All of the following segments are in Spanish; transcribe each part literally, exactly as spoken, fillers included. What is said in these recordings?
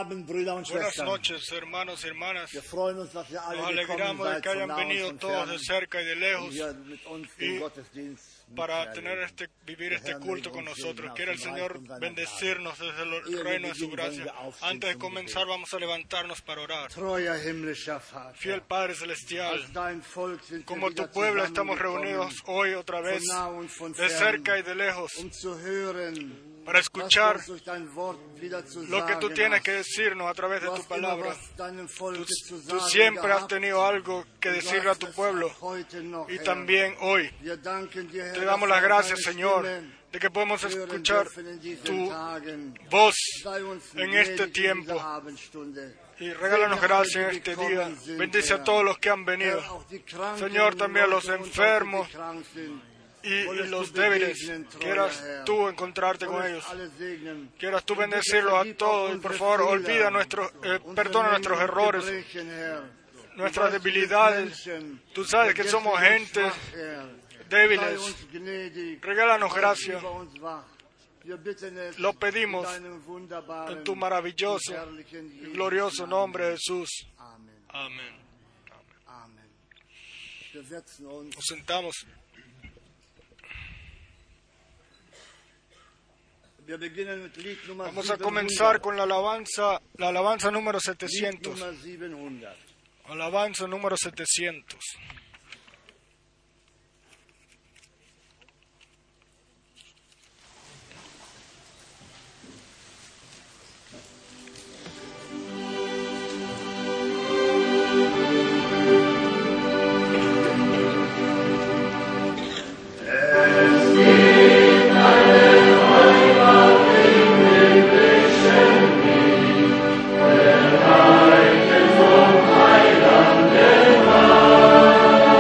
Abend, Brüder und Buenas Schwestern. noches, hermanos y hermanas. Wir freuen uns, dass ihr alle Nos gekommen alegramos de seid, que von hayan nah venido und von todos de fern, cerca y de um lejos hier mit uns den y Gottesdienst para mitzuerleben. tener este, vivir Der este Herr culto möge con uns nosotros. segnen Quiera aus el dem Señor Reichtum seiner bendecirnos desde el Ehe wir reino de su beginnen, gracia. wollen wir aufstehen Antes de zum comenzar Gebet. vamos a levantarnos para orar. Treuer himmlischer Vater, Fiel Padre Celestial, als dein Volk sind wir como wieder tu pueblo estamos zusammengekommen, reunidos hoy otra von vez, nah und von de fern, cerca y de lejos, um zu hören, para was du escuchar uns durch dein Wort wieder zu lo que tú sagen tienes hast. que decirnos a través de Du tu hast immer palabra. was deinem Volke Tú, zu tú sagen siempre has gehabt. tenido algo que Und du decirle a hast tu es pueblo auch heute noch, y Herr. también hoy. Wir danken dir, Herr, Te damos dass las wir gracias, deine Señor, Stimme de que podemos hören escuchar dürfen in diesen tu Tagen. voz Sei uns en este gnädig in tiempo. dieser Abendstunde. Y regálanos gracias en este día. Bendice a todos los que han venido. Herr, auch die Kranken Señor, también a los Leute unter uns, enfermos die krank sind. y, y Wollest du los débiles. begegnen, treuer Quieras Herr. tú encontrarte con Wollest ellos. alle segnen. Quieras tú Und bitte bendecirlos a vergib auch todos. Y por unsere favor, Fehler, olvida nuestros, eh, unsere perdona nuestros Mängel und errores, Gebrechen, Herr. nuestras Du weißt, wir debilidades. Menschen, Tú sabes que somos vergesslich und gente schwach, Herr. débiles. Sei uns gnädig. Regálanos Sei gracia. über uns wach. Wir bitten es Lo pedimos in deinem wunderbaren En tu maravilloso und herrlichen y Jesus' glorioso Namen. nombre, Jesús. Amen. Amén. Amen. Wir setzen uns. Nos sentamos. Wir beginnen mit Lied Nummer Vamos a comenzar siebenhundert. con la alabanza, la alabanza número Lied setecientos. Nummer siebenhundert. Alabanza número setecientos. Heiland der Wahl.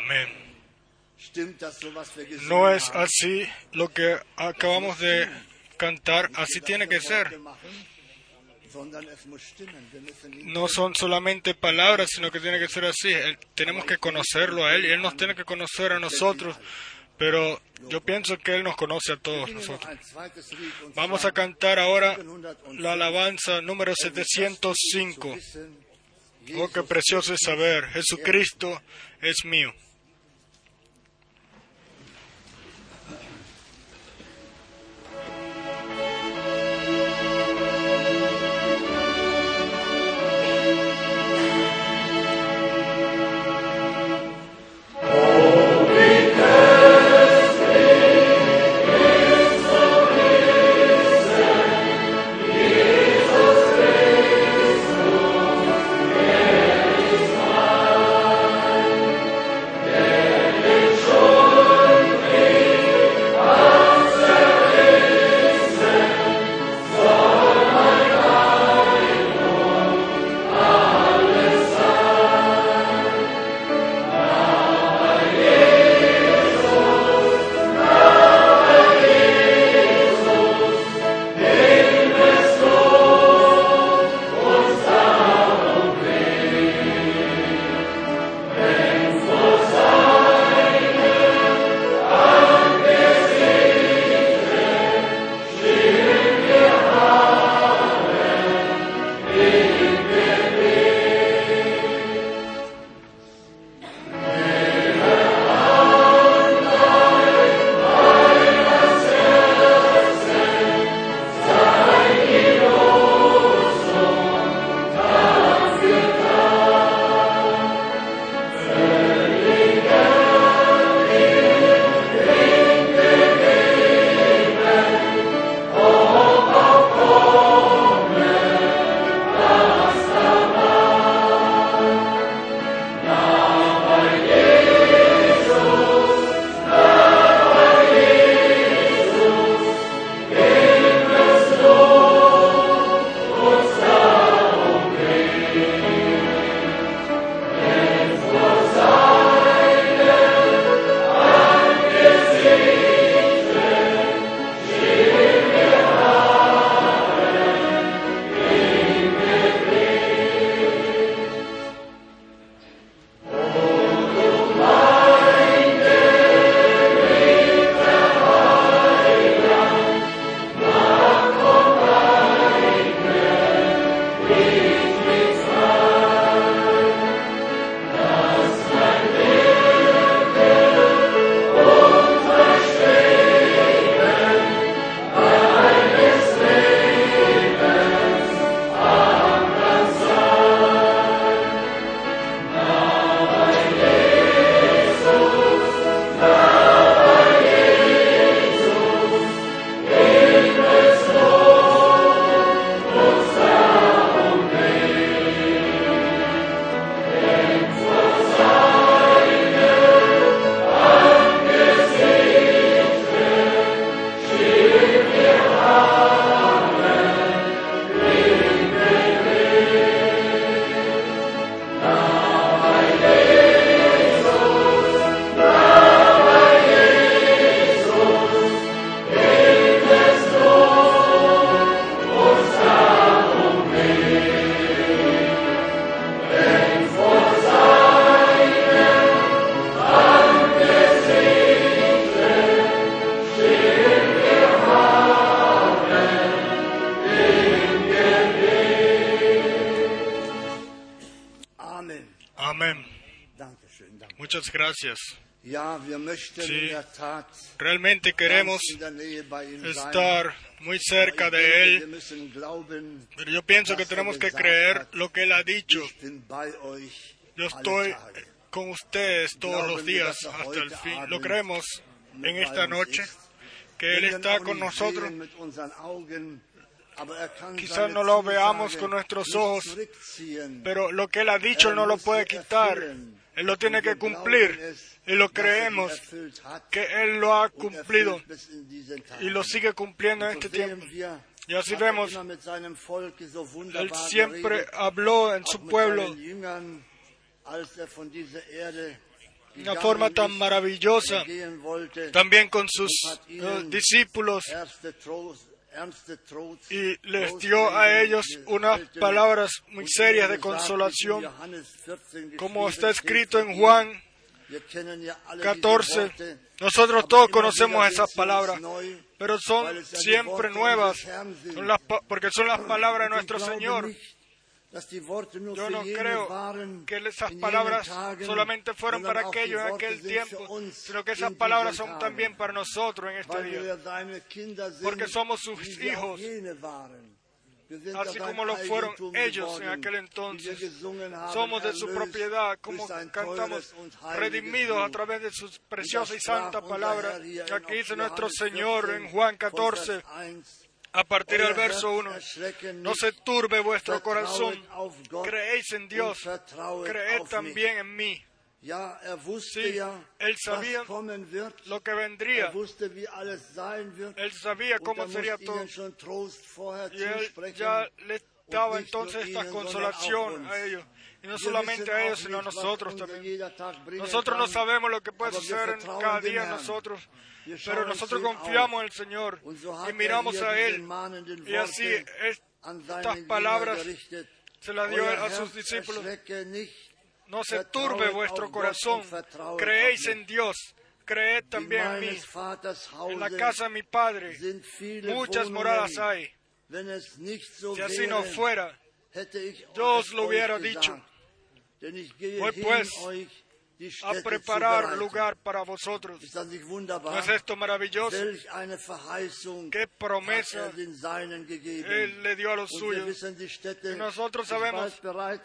Amén. Stimmt das so, was wir gesungen No es haben? así lo que acabamos de cantar, así tiene que ser. Sondern es muss stimmen. Wir müssen ihn No son solamente palabras, sino que tiene que ser así. Él- tenemos que conocerlo a Él y Él nos tiene que conocer a nosotros. Pero yo pienso que Él nos conoce a todos singen noch nosotros. ein zweites Lied, und Vamos zwar a cantar ahora siebenhundertfünf. la alabanza número Es ist das setecientos Lied zu cinco. wissen, Oh, qué Jesus precioso es saber, Jesucristo es mío. Amén. Dankeschön, danke. Muchas gracias. Ja, wir möchten Sí. in der Tat Realmente queremos ganz in der Nähe bei ihm sein. estar muy cerca Aber de ich denke, Él, wir müssen glauben, pero yo pienso que was er tenemos que gesagt creer hat. lo que Él ha dicho. Ich bin bei euch Yo alle estoy Tage. con ustedes todos los Glauben wir, días dass er hasta el heute fin. Abend Lo creemos mit en bei esta uns noche, ist. que Él Wir está können con auch nicht nosotros. sehen mit unseren Augen, aber er kann Quizás seine no lo Zusage veamos con nuestros nicht ojos, zurückziehen. pero lo que Él ha dicho Él no lo puede quitar. Él lo tiene que cumplir y lo creemos que Él lo ha cumplido y lo sigue cumpliendo en este tiempo. Y así vemos, Él siempre habló en su pueblo una forma tan maravillosa, también con sus uh, discípulos, y les dio a ellos unas palabras muy serias de consolación, como está escrito en Juan catorce. Nosotros todos conocemos esas palabras, pero son siempre nuevas, son las, porque son las palabras de nuestro Señor. Yo no creo que esas palabras solamente fueron para aquellos en aquel tiempo, sino que esas palabras son también para nosotros en este día, porque somos sus hijos, así como lo fueron ellos en aquel entonces. Somos de su propiedad, como cantamos, redimidos a través de su preciosa y santa palabra. Aquí dice nuestro Señor en Juan catorce, a partir del verso uno, no se turbe vuestro corazón, creéis en Dios, creed también en mí. Sí, Él sabía lo que vendría, Él sabía cómo sería todo, y Él ya les daba entonces esta consolación a ellos. Y no solamente a ellos, sino a nosotros también. Nosotros no sabemos lo que puede suceder en cada día en nosotros, pero nosotros confiamos en el Señor y miramos a Él. Y así estas palabras se las dio a sus discípulos. No se turbe vuestro corazón, creéis en Dios, creed también en mí. En la casa de mi Padre muchas moradas hay. Si así no fuera, yo os lo hubiera dicho. Voy pues a preparar lugar para vosotros. ¿No es esto maravilloso? ¡Qué promesa Él le dio a los suyos! Y nosotros sabemos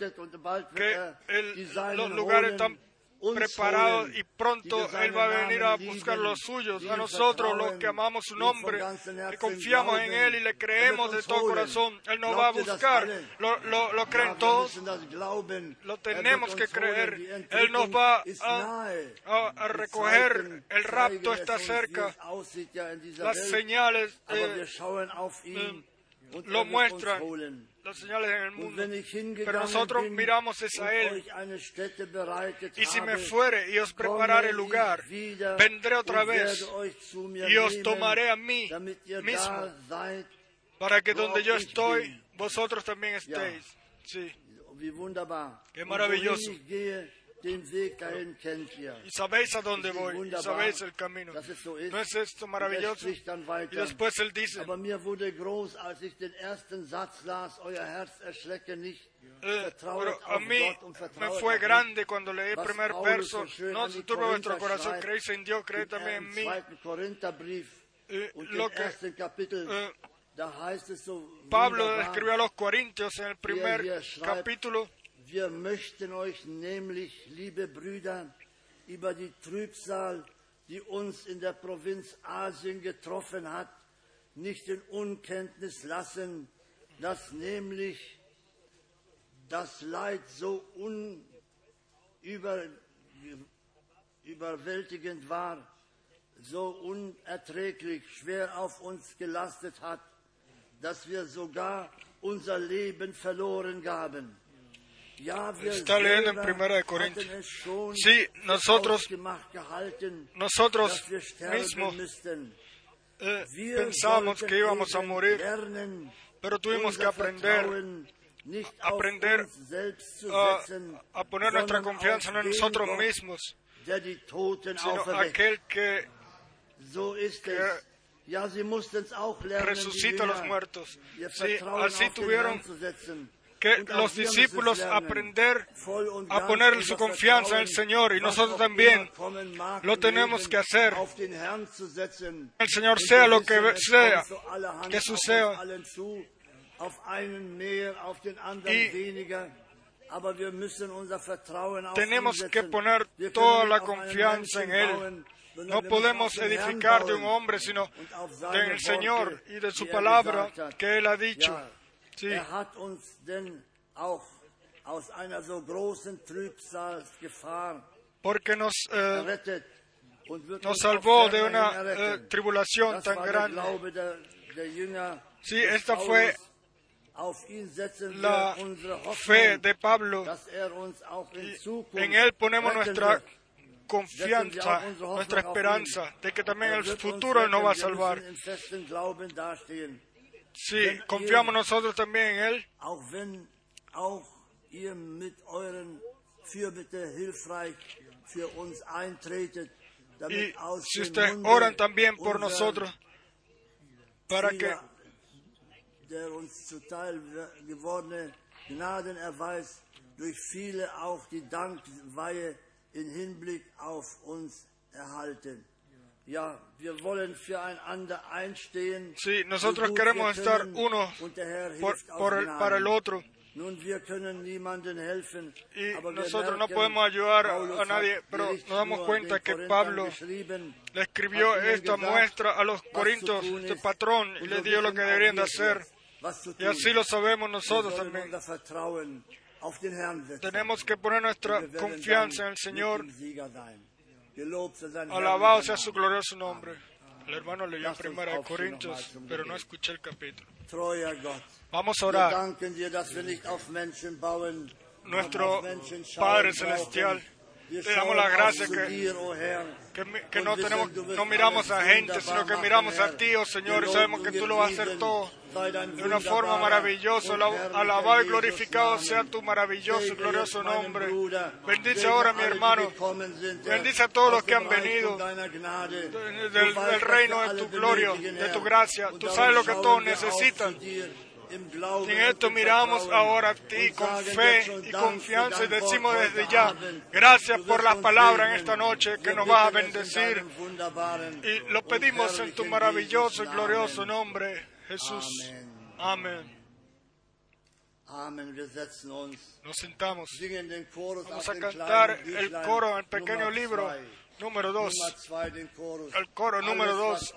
que el, los lugares están preparados y pronto Él va a venir a buscar los suyos. A nosotros, los que amamos su nombre, que confiamos en Él y le creemos de todo corazón, Él nos va a buscar. ¿Lo, lo, lo creen todos? Lo tenemos que creer. Él nos va a, a, a recoger. El rapto está cerca. Las señales eh, eh, lo muestran. Las señales en el mundo, pero nosotros miramos es a Él. Y si me fuere y os preparare lugar, vendré otra vez y os tomaré a mí mismo, para que donde yo estoy, vosotros también estéis. Sí, qué maravilloso. Y sabéis a dónde voy, y sabéis el camino. ¿No es esto maravilloso? Y después Él dice, eh, pero a mí me fue grande cuando leí el primer verso, no se turbe vuestro corazón, creéis en Dios, creed también en mí. Eh, lo que eh, Pablo escribió a los Corintios en el primer capítulo. Wir möchten euch nämlich, liebe Brüder, über die Trübsal, die uns in der Provinz Asien getroffen hat, nicht in Unkenntnis lassen, dass nämlich das Leid so unüberwältigend war, so unerträglich schwer auf uns gelastet hat, dass wir sogar unser Leben verloren gaben. Está leyendo en Primera de Corintios. Sí, nosotros, nosotros mismos eh, pensamos que íbamos a morir, pero tuvimos que aprender, aprender a, a poner nuestra confianza no en nosotros mismos, sino aquel que, que resucita a los muertos. Sí, así tuvieron que los discípulos aprender a poner su confianza en el Señor, y nosotros también lo tenemos que hacer. El Señor sea lo que sea, que suceda. Y tenemos que poner toda la confianza en Él. No podemos edificar de un hombre, sino del Señor y de su palabra que Él ha dicho. Sí. Er hat uns denn auch aus einer so großen Trübsalgefahr porque nos, eh, nos salvó de una eh, tribulación tan grande. Sí, esta fue la fe de Pablo. Y en Él ponemos nuestra confianza, nuestra esperanza de que también en el futuro Él nos va a salvar. Sí, confiamos nosotros también en Él. Y si ustedes oran también por nosotros, para que der uns zuteil gewordene Gnadenerweis durch viele auch die Dankweihe in Hinblick auf uns erhalten. Ja, wir wollen füreinander einstehen. Sí, nosotros queremos estar uno por, por el, para el otro. Nun, wir können niemandem helfen, y aber nosotros no podemos ayudar a, a nadie, pero nos damos cuenta que Pablo le escribió esta muestra a los corintios, este patrón, y les dio lo que deberían de hacer. Y así lo sabemos nosotros también. Tenemos que poner nuestra confianza en el Señor. Alabado sea su glorioso nombre. El hermano leyó en Primera de Corintios, pero no escuché el capítulo. Vamos a orar. Nuestro Padre Celestial, te damos la gracia que, que, que no, tenemos, no miramos a gente, sino que miramos a ti, oh Señor, y sabemos que tú lo vas a hacer todo de una forma maravillosa. Alabado y glorificado sea tu maravilloso y glorioso nombre. Bendice ahora a mi hermano. Bendice a todos los que han venido del, del reino de tu gloria, de tu gracia. Tú sabes lo que todos necesitan. Y en esto miramos ahora a ti con fe y confianza y decimos desde ya, gracias por las palabras en esta noche que nos vas a bendecir. Y lo pedimos en tu maravilloso y glorioso nombre, Jesús. Amén. Nos sentamos. Vamos a cantar el coro en el pequeño libro número dos. El coro número dos.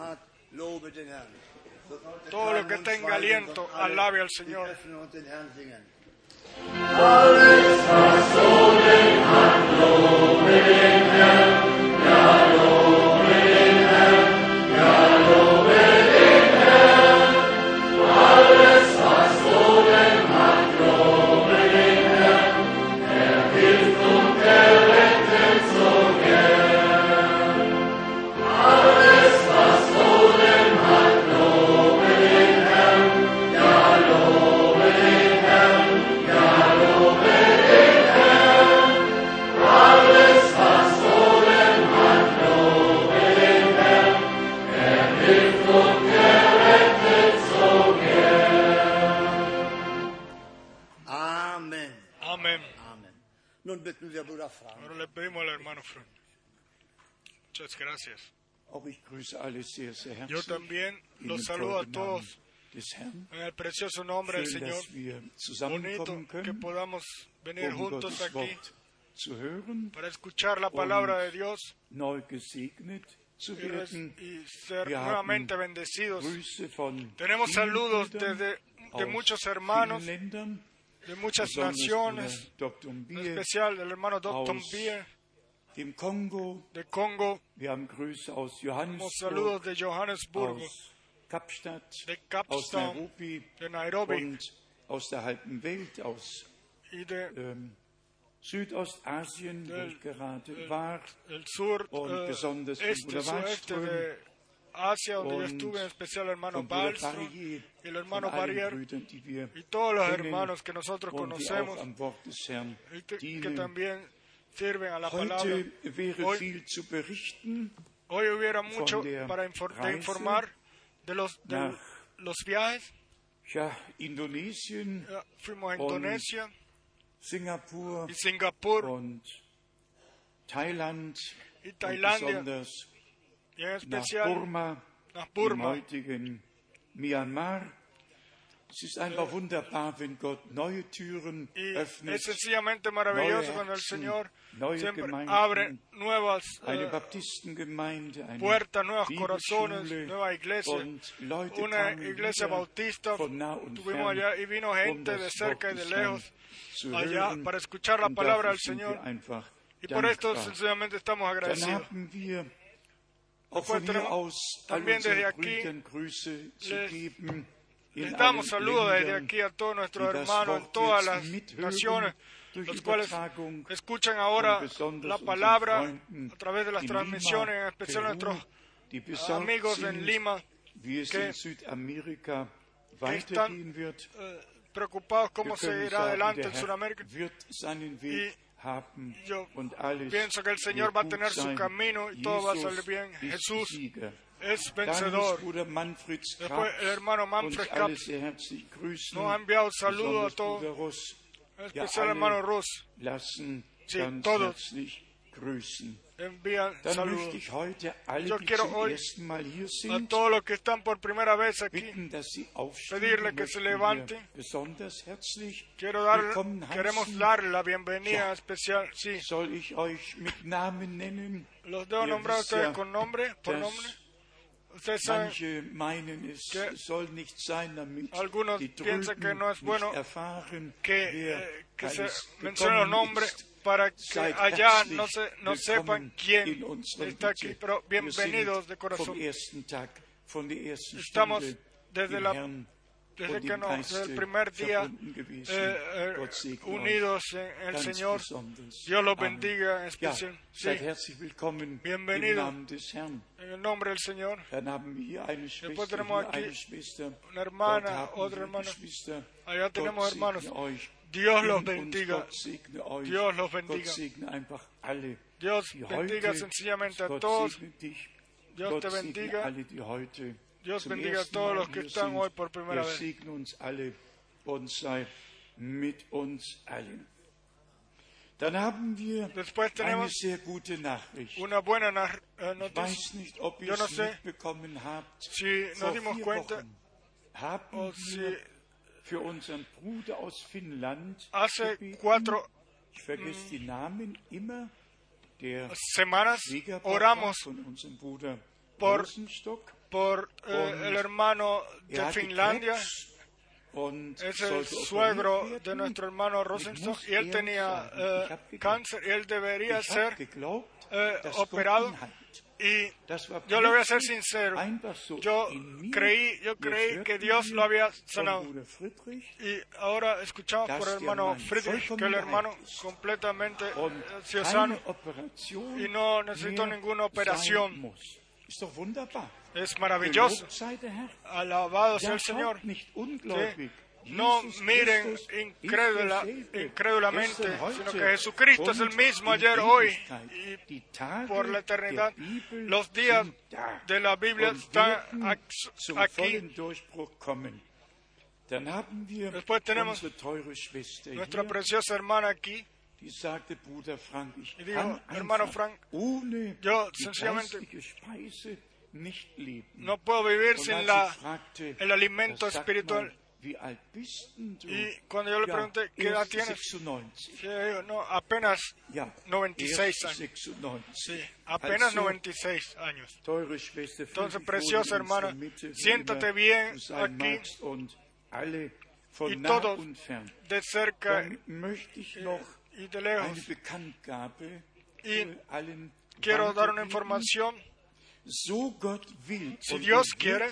Todo lo que tenga aliento, alabe al Señor. Alles, was Sohn hat, lobe den Herrn, ja, lobe den Herrn, ja, lobe den Herrn. Alles, was Sohn hat, lobe den Herrn, er hilft und er rettet so gern. Alles, was Sohn hat, lobe den Herrn, ja, lobe den Herrn, ja, lobe den Herrn. Alles, was Sohn hat, lobe den Herrn, er hilft und er rettet so gern. Amen. Amén. Amen. Nun bitten wir Bruder Frank. Ahora le pedimos al hermano Frank. Muchas gracias. Auch ich grüße alle sehr, sehr Yo herzlich también in los dem saludo a teuren Namen todos des Herrn. en el precioso nombre del Schön, Señor. dass wir Bonito zusammenkommen que können, podamos venir um juntos Gottes aquí Wort zu hören, para escuchar la palabra de Dios neu gesegnet zu y, res- werden. y ser Wir nuevamente haben bendecidos. Grüße von Tenemos vielen saludos Brüdern desde de aus muchos hermanos, vielen Ländern, de muchas besonders naciones, Bruder Doktor en Bier especial del hermano Doctor aus Bier dem Kongo. de Congo. Wir haben Grüße aus Tenemos saludos Johannesburg, de Johannesburgo, aus Kapstadt, de aus Kapstadt, Nairobi de Nairobi und aus der halben Welt, aus y de ähm, Südostasien, wo Del- ich gerade del- war, el sur, und eh, besonders von este, Bruder sureste Wallström de Asia, donde yo und estuve, en especial el hermano von Bruder Wallström Barrier, y el von hermano allen Barrier Brüdern, die wir y todos los kennen hermanos que nosotros und die conocemos auch am Wort des Herrn y que, que dienen. también sirven a la palabra. Heute wäre Hoy, viel zu berichten hoy hubiera mucho der para infor- de Reise informar de los, de nach los viajes. ja, Indonesien, Ya fuimos a und Indonesia Singapur y Singapur und Thailand y und Tailandia besonders y en nach especial Burma, nach im Burma. heutigen Myanmar. Es ist einfach wunderbar, wenn Gott neue Türen Y öffnet, es sencillamente maravilloso neue cuando el Herzen, Señor neue siempre Gemeinden, abre nuevas eine eh, Baptistengemeinde, eine puertas, nuevos corazones, Bibelschule nueva iglesia. und Leute Una kamen iglesia wieder bautista von nah und tuvimos fern, allá y vino um gente de das cerca y Wort de des Herrn lejos zu allá hören. para escuchar la Und palabra dafür del sind wir Señor. einfach Y por esto dankbar. sencillamente estamos Dann agradecidos. haben wir auch Después von hier tenemos aus all también desde unseren aquí Brüdern Grüße zu les geben, Les damos saludos desde aquí a todos nuestros hermanos en todas las naciones, los cuales escuchan ahora la palabra a través de las transmisiones, en especial nuestros amigos en Lima, que, que están eh, preocupados cómo seguirá adelante en Sudamérica. Y yo pienso que el Señor va a tener su camino y todo va a salir bien. Jesús es vencedor. Después el hermano Manfred Kapp nos ha enviado saludos a todos, en especial el hermano Russ. Sí, todos envían saludos. Yo quiero hoy a todos los que están por primera vez aquí pedirle que se levanten. Quiero dar, queremos darle la bienvenida especial. Sí. Los debo nombrar a ustedes con nombre, por nombre. Ustedes saben que algunos piensan que no es bueno que, eh, que se mencionen los nombres para que allá no, se, no sepan quién está aquí, pero bienvenidos de corazón. Estamos desde, la, desde, que no, desde el primer día eh, eh, unidos en el Señor. Dios los bendiga en especial. Sí. Bienvenidos en el nombre del Señor. Después tenemos aquí una hermana, otra hermana. Allá tenemos hermanos. Dios los bendiga. Dios los bendiga. Dios bendiga sencillamente a todos. Dios te bendiga. Dios bendiga a todos los que están hoy por primera vez. Después tenemos una buena noticia. Yo no sé si nos dimos cuenta o si hace cuatro semanas oramos por, por eh, el hermano de Finlandia. Es el suegro de nuestro hermano Rosenstock y él tenía eh, cáncer y él debería ser eh, operado. Y yo le voy a ser sincero, yo creí, yo creí que Dios lo había sanado. Y ahora escuchamos por el hermano Friedrich que el hermano completamente ha sido sano y no necesitó ninguna operación. Es maravilloso. Alabado sea el Señor. ¿Sí? No miren incrédula, incrédulamente, sino que Jesucristo es el mismo ayer, hoy y por la eternidad. Los días de la Biblia están aquí. Después tenemos nuestra preciosa hermana aquí. Y dijo, hermano Frank, yo sencillamente no puedo vivir sin la, el alimento espiritual. Y cuando yo le pregunté, ¿qué edad tienes? Yo digo, no, apenas noventa y seis años. Sí, apenas noventa y seis años. Entonces, preciosa hermana, siéntate bien aquí y todos de cerca y de lejos. Y quiero dar una información. Si Dios quiere,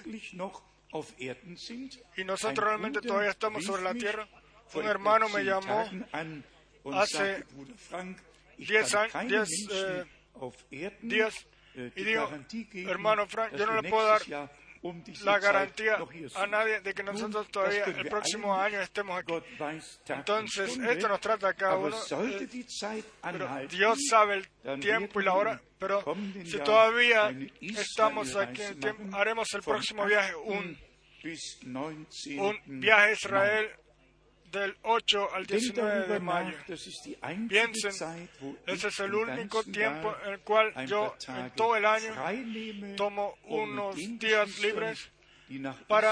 y nosotros realmente todavía estamos sobre la tierra, un hermano me llamó hace diez años, días, y dijo, hermano Frank, yo no le puedo dar la garantía a nadie de que nosotros todavía el próximo año estemos aquí. Entonces, esto nos trata a cada uno, eh, pero Dios sabe el tiempo y la hora, pero si todavía estamos aquí en el tiempo, haremos el próximo viaje, un, un viaje a Israel del ocho al diecinueve de mayo. Piensen, ese es el único tiempo en el cual yo en todo el año tomo unos días libres para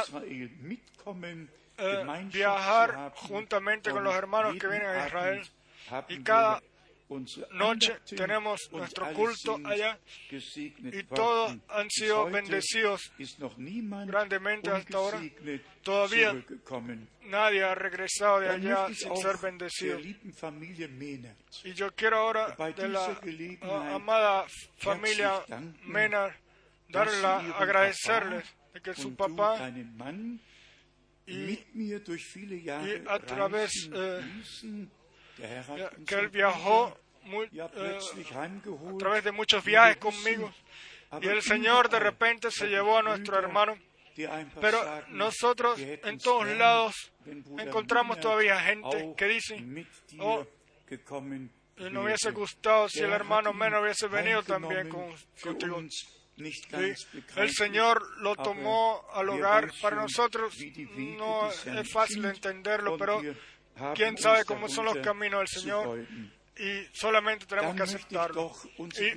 eh, viajar juntamente con los hermanos que vienen a Israel. Y cada noche tenemos nuestro culto allá y todos han sido bendecidos grandemente hasta ahora. Todavía nadie ha regresado de allá sin ser bendecido. Y yo quiero ahora de la uh, amada familia Mena darle la, agradecerles de que su papá y, y a través eh, ya, que Él viajó muy, eh, a través de muchos viajes conmigo. Y el Señor de repente se llevó a nuestro hermano. Pero nosotros en todos lados encontramos todavía gente que dice, oh, no hubiese gustado si el hermano menos hubiese venido también con, contigo. Sí, el Señor lo tomó al hogar. Para nosotros no es fácil entenderlo, pero quién sabe cómo son los caminos del Señor. Y solamente tenemos que aceptarlo. Y,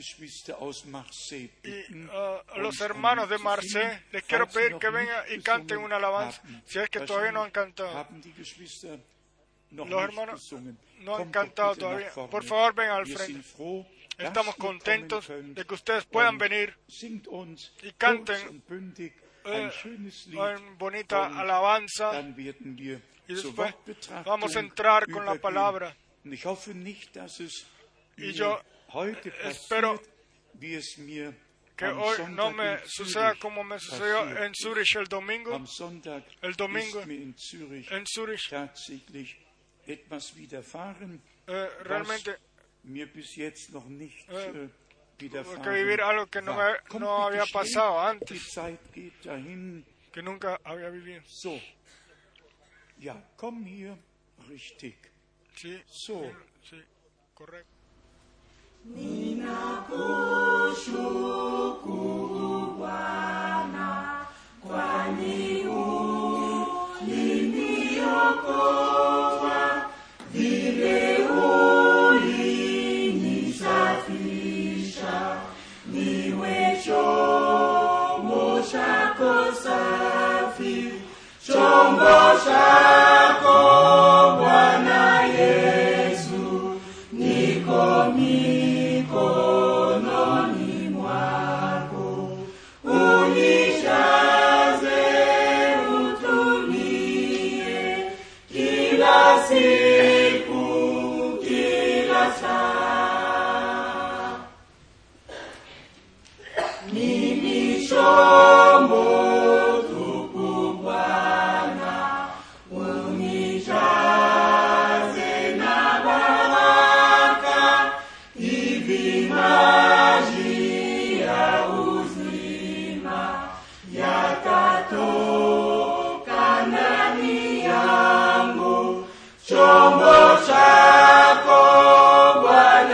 y uh, los hermanos de Marseille, les quiero pedir que vengan y canten una alabanza, si es que todavía no han cantado. Los hermanos no han cantado todavía. Por favor, vengan al frente. Estamos contentos de que ustedes puedan venir y canten eh, una bonita alabanza. Y después vamos a entrar con la palabra. Y yo espero que hoy no me suceda como me sucedió en Zurich el domingo. El domingo en Zurich eh, realmente eh, tuve que vivir algo que no, me, no había pasado antes, que nunca había vivido. Sí, so. Sí, correcto. Ninakushukuru Bwana kwani uliniokoa, vile ulinisafisha, niwe chombo chako safi, chombo chako Bwana Yesu, niko mikononi mwako, unijaze utumie kila siku, kila saa. Mimi chombo chombo chako Bwana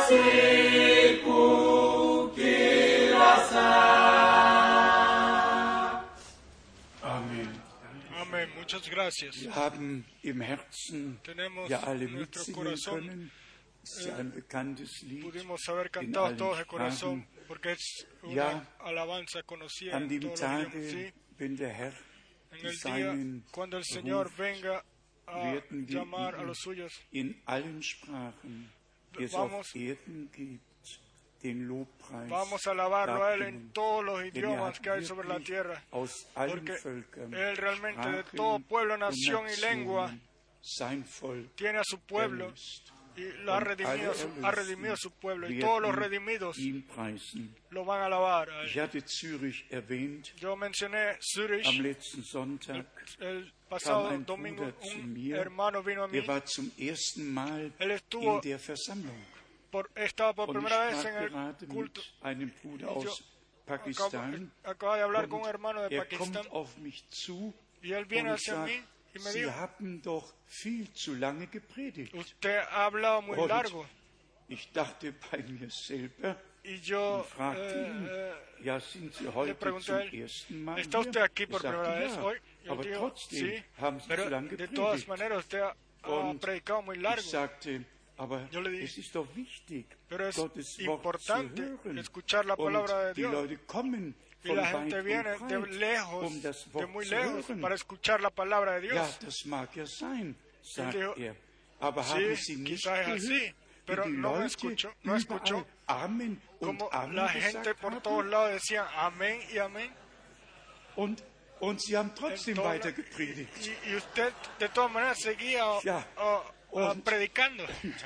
siku kila saa. Amen. Amén. Muchas gracias. Wir haben im Herzen Tenemos ja alle en nuestro mitsingen corazón, können. Es ist ja ein bekanntes Lied Pudimos haber in cantado allen todos de corazón, Sprachen. porque es una Ja, alabanza conocida An en dem todos los idiomas. Tage, Sí, wenn der Herr en die el día Seinen cuando el Señor ruft, venga a werden wir llamar a ihm los suyos, in allen Sprachen, die es Vamos- auf Erden gibt, den Lobpreis vamos a alabarlo a Él en darbringen. todos los Denn er idiomas hat que hay sobre la wirklich tierra, aus allen porque Völkern, Él realmente de Sprachen todo pueblo, und nación y lengua Nationen sein Volk tiene a su pueblo erlöst. y lo ha Und redimido, alle su- ha Erlösten redimido a su pueblo, y werden todos los redimidos ihn preisen. lo van a alabar a Ich Él. hatte Zürich erwähnt. Yo mencioné Am Zurich letzten Sonntag el kam pasado ein domingo, Bruder zu un mir. hermano vino a mí, Er war zum ersten Mal Él estuvo in der Versammlung. por, estaba por Und ich primera vez sprach en el gerade culto. mit einem Bruder Y yo aus Acaba, Pakistan. acaba de hablar con Und un hermano de er Pakistán kommt auf mich zu y él viene und hacia sagt, mí y me Sie dijo, haben doch viel zu lange gepredigt. usted ha hablado muy Und largo. ich dachte bei mir selber Y yo und fragte ihn, eh, ja, sind Sie le heute pregunté a zum él, ersten Mal ¿está usted hier? aquí por Er primera sagte, vez ja, hoy? Y él aber dijo, trotzdem sí, haben Sie pero zu lange de todas gepredigt. maneras usted ha, ha Und predicado muy Ich largo. sagte, aber Yo le dije, es ist doch wichtig, Pero es Gottes Wort importante zu hören. escuchar la palabra de Und die Dios. Leute kommen Y von la weit gente und viene de breit, lejos, um das de Wort muy zu lejos, hören. para escuchar la palabra de Dios. Ja, das mag ja sein, sagt dijo, er. Aber haben Sie Sí, nicht quizás es gehört, así, pero wie die no me Leute escuchó, no überall escuchó Amen und como Amen la gente gesagt por haben? todos lados decía amén y amén. Und, und Sie haben trotzdem En todos weiter la- gepredigt. Y, y usted de todas maneras seguía o- Ja. o- o Und- predicando.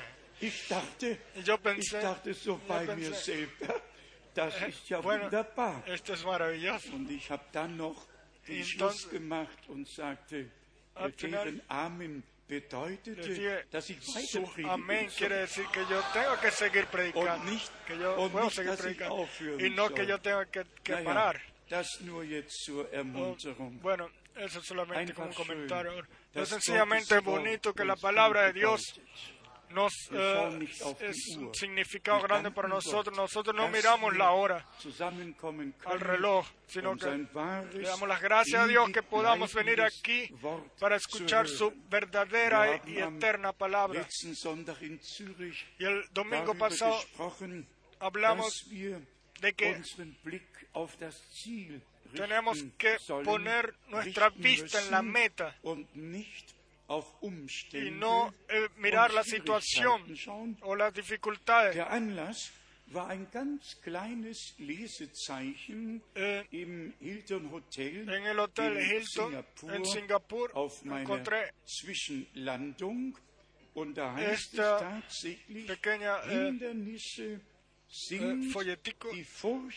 Ich dachte, Y yo ich pensé, dachte so yo bei mir pensé, selber, das ist ja bueno, wunderbar. esto es maravilloso. Und ich habe dann noch den Y Schluss entonces, gemacht und sagte, al final, deren Amen bedeutete, Le dije, dass ich su weiter amén predigen quiere soll. decir que yo tengo que seguir predicando, Und nicht- que yo und puedo nicht, seguir dass ich predicando aufhören y no soll. que yo tenga que, que Naja, parar. das nur jetzt zur O, Ermunterung. bueno, eso es solamente Einfach como un schön, comentario. No dass sencillamente es Gottes Wort bonito que la uns palabra de viel Dios bedeutet. nos Wir eh, schauen nicht auf die es Uhr. un significado Wir grande para danken nosotros. Gott, Nosotros no dass miramos wir la hora zusammenkommen al können, reloj, sino um que sein wahres, le damos las gracias a Dios que podamos venir ewig aquí bleibendes Wort para zu escuchar su hören. verdadera Wir y haben am eterna palabra. letzten Sonntag in Zürich Y el domingo darüber pasado gesprochen, hablamos dass wir de que unseren Blick auf das Ziel tenemos richten que sollen, poner nuestra richten vista en la müssen meta und nicht auf Umstände y no eh, mirar und la situación Schwierigkeiten schauen. o las dificultades. Der Anlass war ein ganz kleines Lesezeichen Eh, im Hilton Hotel En el Hotel in Hilton Singapur en Singapur auf meiner encontré Zwischenlandung, und da heißt esta es tatsächlich, pequeña, eh, Hindernisse sind eh, folletico die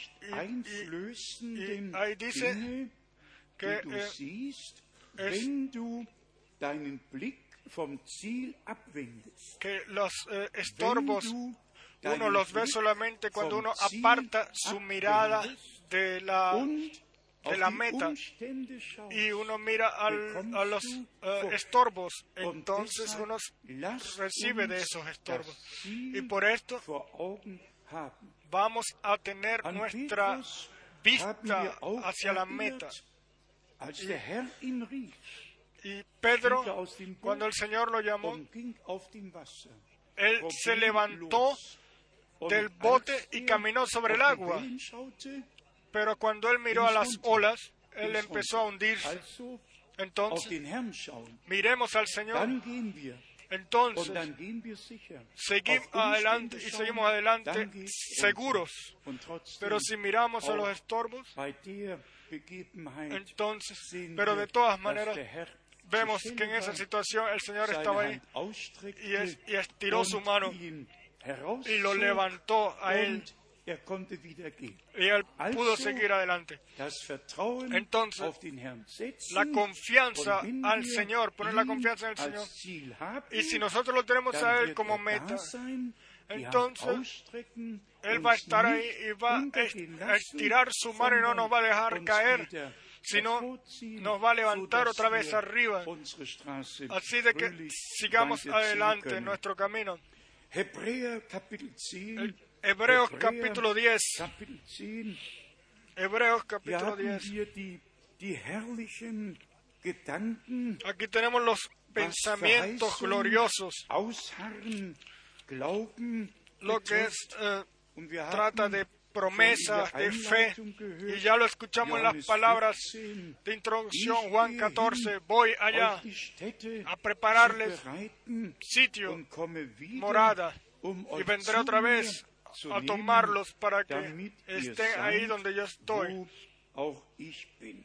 furchteinflößenden y ahí dice Dinge, que die du eh, siehst, es- wenn du deinen Blick vom Ziel abwendest. que los eh, estorbos Wenn du uno deinen los ve Blick solamente cuando vom uno Ziel aparta su mirada abwendest de la und de auf la die meta Umstände schaust, y uno mira al- bekommst a los du eh, Furcht. estorbos, Und entonces deshalb uno lasst recibe de uns esos das estorbos. Ziel Y por esto vor Augen haben. vamos a tener An nuestra Petrus haben vista wir auch hacia la erinnert, meta. als der Herr ihn rief, Y Pedro, stieg er aus dem Boot cuando el Señor lo llamó, und ging auf dem Wasser. él se levantó Und del als bote y er caminó sobre el auf die agua. Wellen schaute, Pero cuando él miró a las olas, él empezó a hundirse. also auf Entonces, den Herrn schauen, miremos al Señor. dann gehen wir. Und Entonces, dann gehen wir sicher. seguimos Auf adelante Umstände y schauen, seguimos adelante dann geht es seguros. unser. Und trotzdem, Pero si miramos a los auch estorbos, bei der Begebenheit entonces, sehen pero wir, de todas dass maneras, der Herr vemos zur que en Stelle esa war, situación el Señor seine estaba ahí Hand ausstreckte y, es- y estiró su und mano ihn y lo herauszog levantó a él und er konnte wieder gehen. y él pudo Also, seguir adelante. Das Vertrauen Entonces, auf den Herrn setzen, La confianza und wenn al wir Señor, poner la ihn confianza en el als Señor. Ziel haben, Y si nosotros lo tenemos dann a Él wird como er meta, da sein, die Hand entonces, ausstrecken, Él va a uns estar ahí nicht y va a untergehen est- a lassen, estirar su mano y no nos va a dejar sondern caer, uns wieder sino hervorziehen, nos va a levantar sodass otra vez wir arriba, unsere Straße así de que fröhlich sigamos weiterziehen adelante en können. nuestro camino. Hebräer Kapitel zehn, El Hebreos Hebräer capítulo diez. Kapitel zehn, Hebreos hier capítulo haben diez. wir die, die herrlichen Gedanken, Aquí tenemos los was pensamientos Verheißung, gloriosos, Ausharren, Glauben lo que betrifft. es, eh, Und wir trata haben de schon promesas, in der de fe, Einleitung gehört, y ya lo escuchamos en las Johannes palabras fünfzehn, de introducción, ich Juan gehe catorce, hin, voy allá euch die Städte a prepararles zu bereiten, sitio, und komme wieder, morada, um y euch vendré zu otra mir vez zu a nehmen, tomarlos para que damit ihr estén ahí seid, donde yo estoy. wo auch ich bin.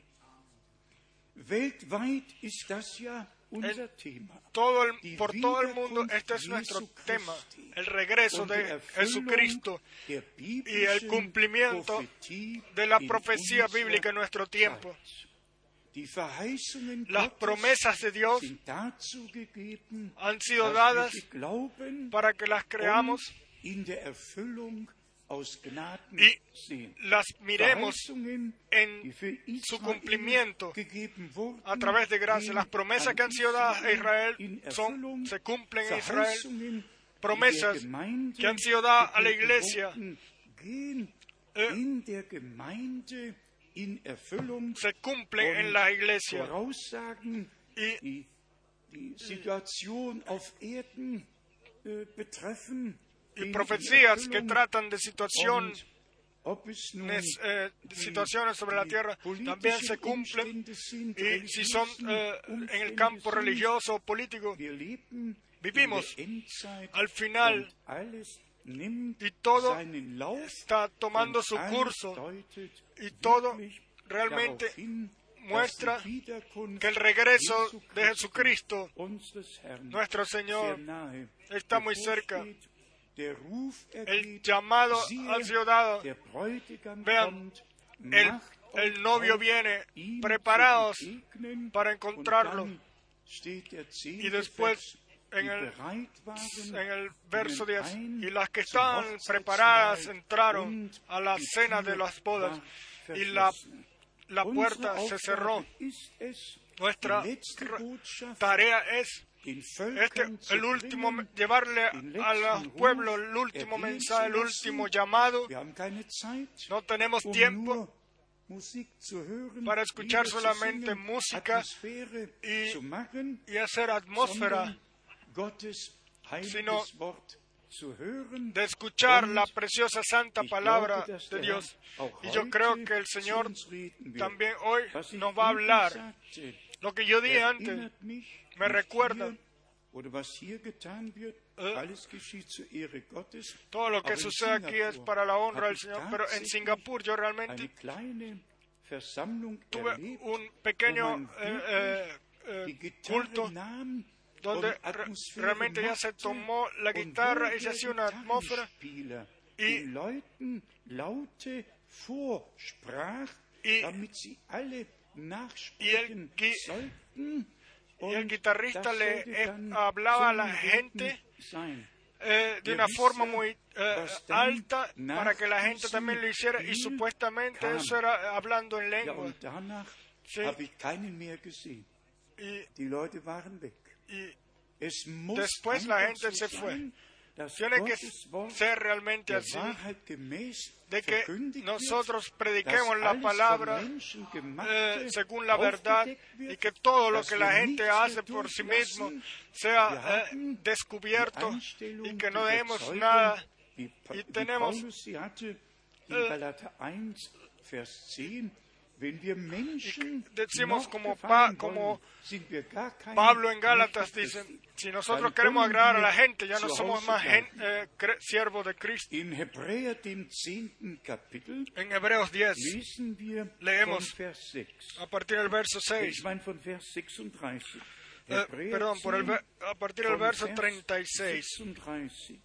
Weltweit ist das ja unser Thema. Todo el, Die por todo el mundo, Wiederkunft este es nuestro Jesu tema, Christi el regreso und die de Erfüllung Jesucristo der y el biblischen cumplimiento Prophetie de la in profecía unserer bíblica en nuestro tiempo. Zeit. Die Verheißungen Las Gottes promesas de Dios sind dazu gegeben, han sido dass dadas wir sie glauben para que las creamos und in der Erfüllung aus Gnaden y sehen. las miremos Verheißungen, en die für su Israel cumplimiento gegeben wurden, a través de gracia. gehen Las promesas an que han sido dadas a Israel in son, Erfüllung. se cumplen en Israel. Verheißungen, Promesas die der Gemeinde que han sido dadas a la gegeben iglesia wurden, gehen eh, in der Gemeinde in Erfüllung. se cumplen en Und la iglesia. Voraussagen, Y die die Situation auf Erden äh, betreffen, y gehen in profecías que Erfüllung. tratan de situaciones, Und ob es nun eh, die- situaciones sobre la die tierra politischen también se cumplen. Umstände sind, Y si son religiösen eh, en el Umstände campo sind, religioso o político, wir leben vivimos in der Endzeit al final und alles nimmt y todo seinen Lauf está tomando und su alles curso deutet y todo wirklich realmente darauf hin, muestra dass die Wiederkunft que el regreso Jesu de Jesucristo, unseres Herrn, nuestro Señor, sehr nahe está muy cerca. bevorsteht. Der Ruf El ergeht, llamado siehe, ha sido dado. der Bräutigam Vean, kommt, El, macht el euch novio auf, viene, ihm preparaos zu begegnen. para Und encontrarlo. dann steht der Y después, en el, bereit waren, en el verso gingen diez, ein y las que zum estaban Hochzeitsmahl preparadas entraron und a la die cena Tür de las bodas war y la, verschlossen. la Unsere puerta se Aufgabe cerró. ist es, Nuestra die letzte ra- Botschaft tarea es den este, Völkern zu el último, bringen, llevarle den a los letzten pueblos Ruf el último ergehen mensaje, el zu lassen. último llamado. Wir haben keine Zeit, No tenemos um tiempo nur Musik zu hören, para escuchar Lieder zu solamente singen, música Atmosphäre y- zu machen, y hacer atmósfera, sondern Gottes heiliges sino Wort zu hören. de escuchar Und la preciosa santa ich palabra glaube, dass de der Dios. Herr auch Y yo heute creo que el zu Señor uns reden wird. también hoy Was ich nos va a eben hablar. sagte, Lo que yo dije antes, erinnert mich, me nicht recuerda, hier, oder was hier getan wird, eh, alles geschieht zur Ehre Gottes. todo lo que Aber en sucede aquí es Singapur para la honra habe del ich Señor, pero en tatsächlich Singapur yo eine realmente kleine Versammlung tuve erlebt, un pequeño wo man eh, eh, die eh, Gitarre culto nahm donde und re- Atmosphäre realmente ya se machte tomó la und guitarra wo y se der hacía una atmósfera Gitarrenspieler y- den Leuten Laute vorsprach, y- damit sie alle nachsprechen Gui- sollten. y el Und guitarrista das le sollte eh, dann hablaba a la zum gente Reden sein. eh, de Wir una forma wissen, muy eh, was dann alta nach para que la gente diesem también lo hiciera y Spiel supuestamente kam. eso era hablando en Ja, lengua. und danach Sí. habe ich keinen mehr gesehen. Y, Die Leute waren weg. y Es muss Después la einfach gente so se fue. sein, dass tiene que Gottes Wort ser realmente der así, Wahrheit gemäß de que verkündigt nosotros wird, prediquemos dass la alles palabra von Menschen eh, Gemachte según la verdad aufgedeckt wird, y que todo lo dass que wir la gente nichts hace mehr por sí durchlassen. mismo sea Wir eh, haben descubierto die Einstellung, y que die no demos Überzeugung, nada. wie, Pa- y wie tenemos, Paulus sie hatte in eh, Galater eins, Vers zehn. Wenn wir Menschen decimos noch como gefallen Pa- como wollen, sind wir gar keine Pablo en Gálatas Knechte dice, Christi. si nosotros Dann queremos können agradar a wir la gente, ya no zu somos Hause más gen- bleiben. eh, cre- siervos de Cristo. In Hebräer, dem zehnten Kapitel, En Hebreos diez, lesen wir Leemos von Vers sechs. a partir del verso seis, Ich meine von Vers sechsunddreißig. eh, Hebräer perdón, por el, zehn, ver- a partir del von verso Vers treinta y seis. sechsunddreißig.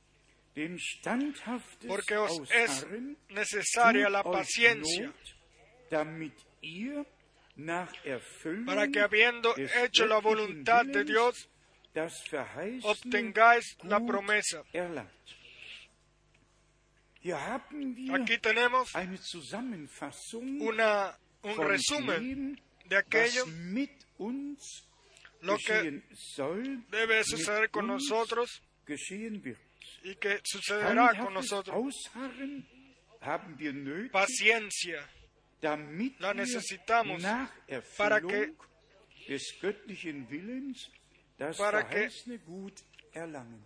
Denn standhaftes Porque os es Ausharren necesaria la tut euch paciencia, Not, damit ihr nach Erfüllung para que habiendo des hecho la göttlichen voluntad de Willens Dios, das Verheißene obtengáis la gut promesa. erlangt. Hier haben wir Aquí tenemos eine Zusammenfassung una, un von resumen dem, de aquello, was mit uns lo que geschehen soll, debe suceder mit con uns nosotros geschehen wird. y que sucederá con Standhaftes nosotros. Ausharren haben wir nötig, Paciencia damit la wir necesitamos nach para que- Erfüllung des göttlichen Willens das para que- verheißene Gut erlangen.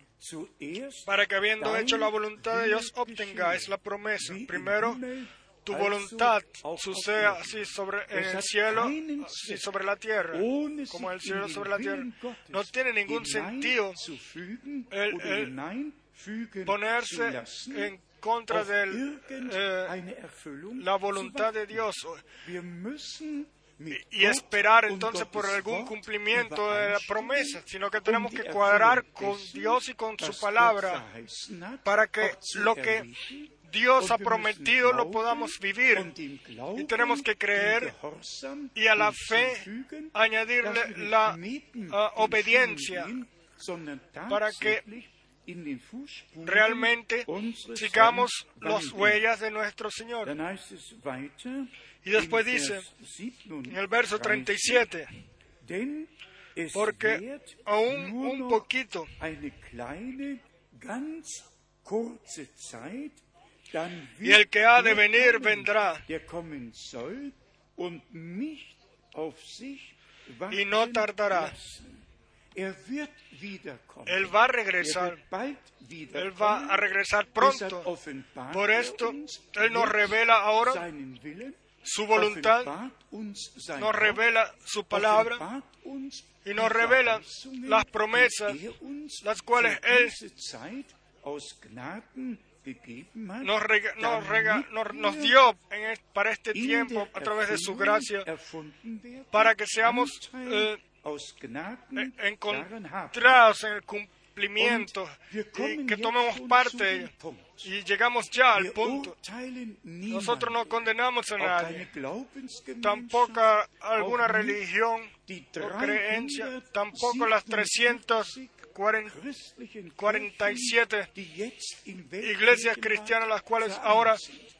Zuerst para que habiendo dein hecho la voluntad de Dios Wille obtengáis geschehe, la promesa. wie im Primero, Himmel, tu also voluntad auch auf suceda Erden. así sobre en Es el hat cielo, keinen así Zweck, sobre la tierra, ohne como el sich in cielo den sobre la tierra. Willen Gottes No tiene ningún sentido hineinzufügen el- oder el hineinfügen zu ponerse lassen en contra auf de irgendeine Erfüllung la zu voluntad de warten. Dios Wir müssen mit y Gott esperar und entonces por Gottes algún Wort cumplimiento de la promesa, sino que um tenemos die que cuadrar Erfüllung con dessen, Dios y con su was palabra Gott verheißen hat, para que auch zu lo que errichten. Dios ha Und wir prometido müssen lo podamos glauben vivir und dem Glauben, y tenemos que creer dem Gehorsam y a la fe hinzufügen, añadirle dass wir nicht la neben uh, den obediencia Schuhen gehen, sondern para que tatsächlich in den Fußspuren realmente unseres sigamos Herrn las wandeln. huellas de nuestro Señor. Dann heißt es weiter, Y después in dice, Vers siebenunddreißig, En el verso treinta y siete, denn es porque währt aún nur un noch poquito, eine kleine, ganz kurze Zeit, dann y el que ha de wird venir kommen, vendrá, der kommen soll und nicht auf sich y no warten tardará. lassen. Er wird wiederkommen. Él va a Er regresar, wird bald Él va wiederkommen. a regresar Deshalb pronto. offenbart Por er esto, uns Él nos jetzt revela ahora seinen Willen, su voluntad, offenbart uns sein nos Wort, revela su palabra offenbart uns y nos die revela Verheißungen, las promesas, die er uns las cuales für Él diese Zeit aus Gnaden gegeben hat, nos, rega- nos, rega- damit nos, nos wir dio en el- para este in tiempo der a través de su Erfüllung gracia, erfunden werden, para que seamos Anteil eh, aus Gnaden en- daran haben. encontrados en el cumplimiento Und wir y kommen que jetzt tomemos schon parte zu de dem ello. Punkt. Y llegamos ya al Wir punto. urteilen Nosotros no niemanden, condenamos a auch keine nadie, Glaubensgemeinschaft, tampoco a alguna auch nicht religión die o creencia, dreihundertsiebenundfünfzig tampoco las trescientas christlichen cuarenta y Kirchen, siete die jetzt im iglesias cristianas, las cuales ahora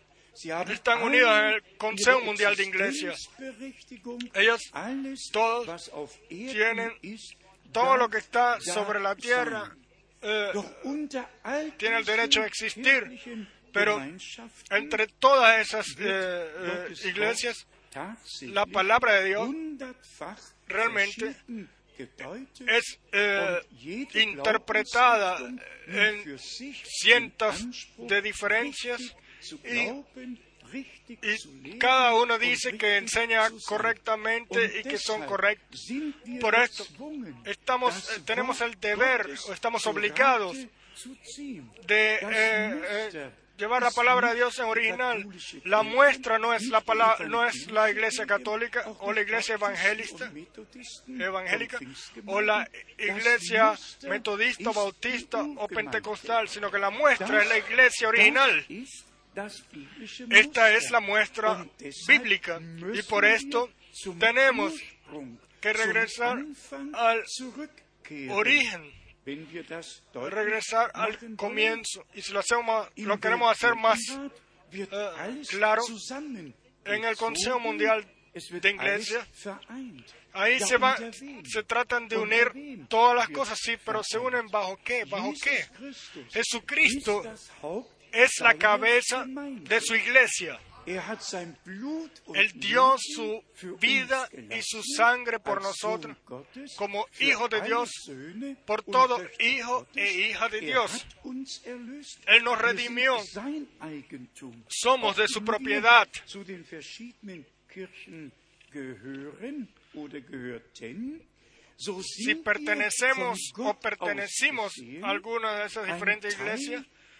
están unidas en el Consejo Mundial de Iglesias. Ellos todos tienen todo lo que está sobre la tierra, eh, tiene el derecho a existir, pero entre todas esas eh, eh, iglesias, la palabra de Dios realmente es eh, interpretada en cientos de diferencias y, y cada uno dice que enseña correctamente y que son correctos. Por esto estamos, eh, tenemos el deber o estamos obligados de eh, eh, llevar la palabra de Dios en original. La muestra no es la palabra, no es la Iglesia Católica o la Iglesia evangelista, evangélica o la Iglesia metodista, bautista o pentecostal, sino que la muestra es la Iglesia original. Esta es la muestra bíblica y por esto tenemos que regresar al origen, regresar al comienzo. Y si lo hacemos, lo queremos hacer más eh, claro, en el Consejo Mundial de Iglesia, ahí se va, se tratan de unir todas las cosas, sí, pero se unen bajo qué, bajo qué. Jesucristo es la cabeza de su iglesia. Él dio su vida y su sangre por nosotros, como hijo de Dios, por todo hijo e hija de Dios. Él nos redimió. Somos de su propiedad. Si pertenecemos o pertenecimos a alguna de esas diferentes iglesias,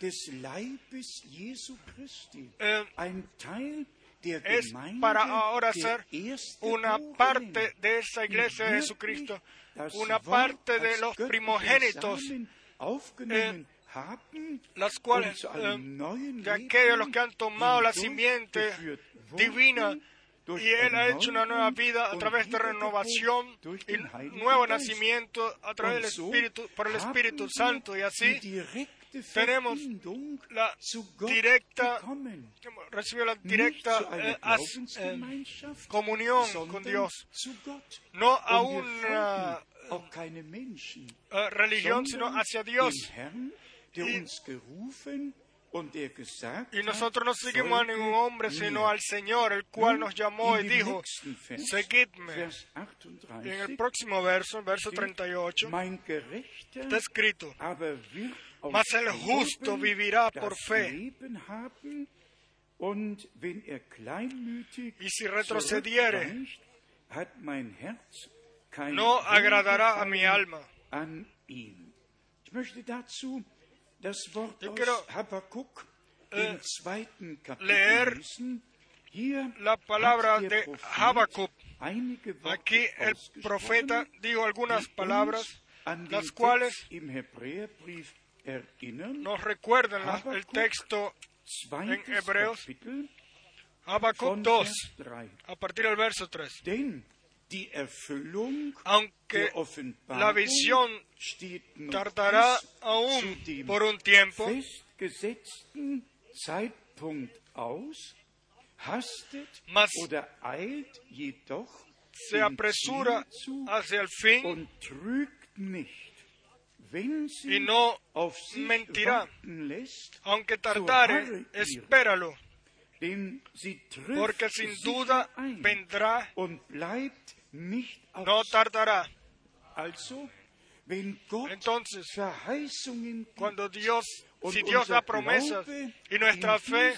eh, es para ahora ser una parte de esa iglesia de Jesucristo, una parte de los primogénitos, eh, las cuales, eh, de aquellos los que han tomado la simiente divina, y Él ha hecho una nueva vida a través de renovación y nuevo nacimiento a través del Espíritu, por el Espíritu Santo, y así tenemos la directa, recibió la directa eh, as, eh, comunión con Dios, no a una uh, religión, sino hacia Dios. Y nosotros no seguimos a ningún hombre, sino al Señor, el cual nos llamó y dijo, seguidme. Y en el próximo verso, verso treinta y ocho, está escrito, mas el justo vivirá por fe. Y si retrocediere, no agradará a mi alma. Yo quiero eh, leer la palabra de Habacuc. Aquí el profeta dijo algunas palabras, las cuales nos recuerdan la, el texto en Hebreos, Habacuc dos, a partir del verso tres. Aunque la visión tardará aún por un tiempo, mas se apresura hacia el fin y no mentirá. Aunque tardare, espéralo, porque sin duda vendrá, no tardará. Entonces, cuando Dios, si Dios da promesas y nuestra fe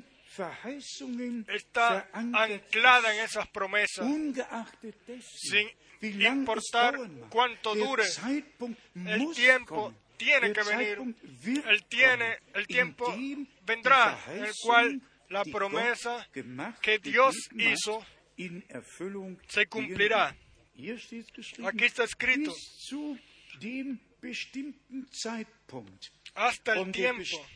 está anclada en esas promesas, sin importar cuánto dure, el tiempo tiene que venir, el, tiene, el tiempo vendrá en el cual la promesa que Dios hizo se cumplirá. Aquí está escrito, hasta el tiempo.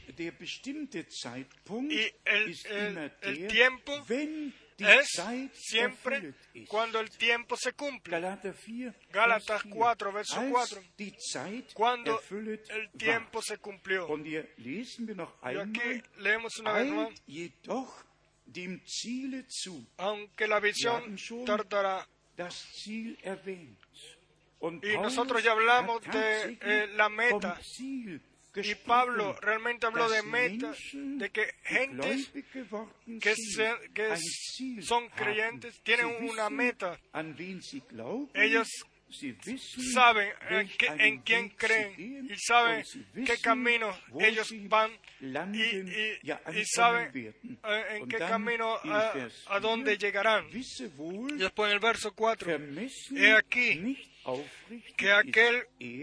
Y el, el, el tiempo es siempre cuando el tiempo se cumple. Gálatas cuatro, verso cuatro. Cuando el tiempo se cumplió. Y aquí leemos una vez más. Aunque la visión tardará. Y nosotros ya hablamos de eh, la meta. Y Pablo realmente habló de meta, de que gentes que, se, que son creyentes tienen una meta. Ellos saben en, qué, en quién creen y saben qué camino ellos van y, y, y saben eh, en qué camino a, a dónde llegarán. Y después en el verso cuatro, he aquí que aquel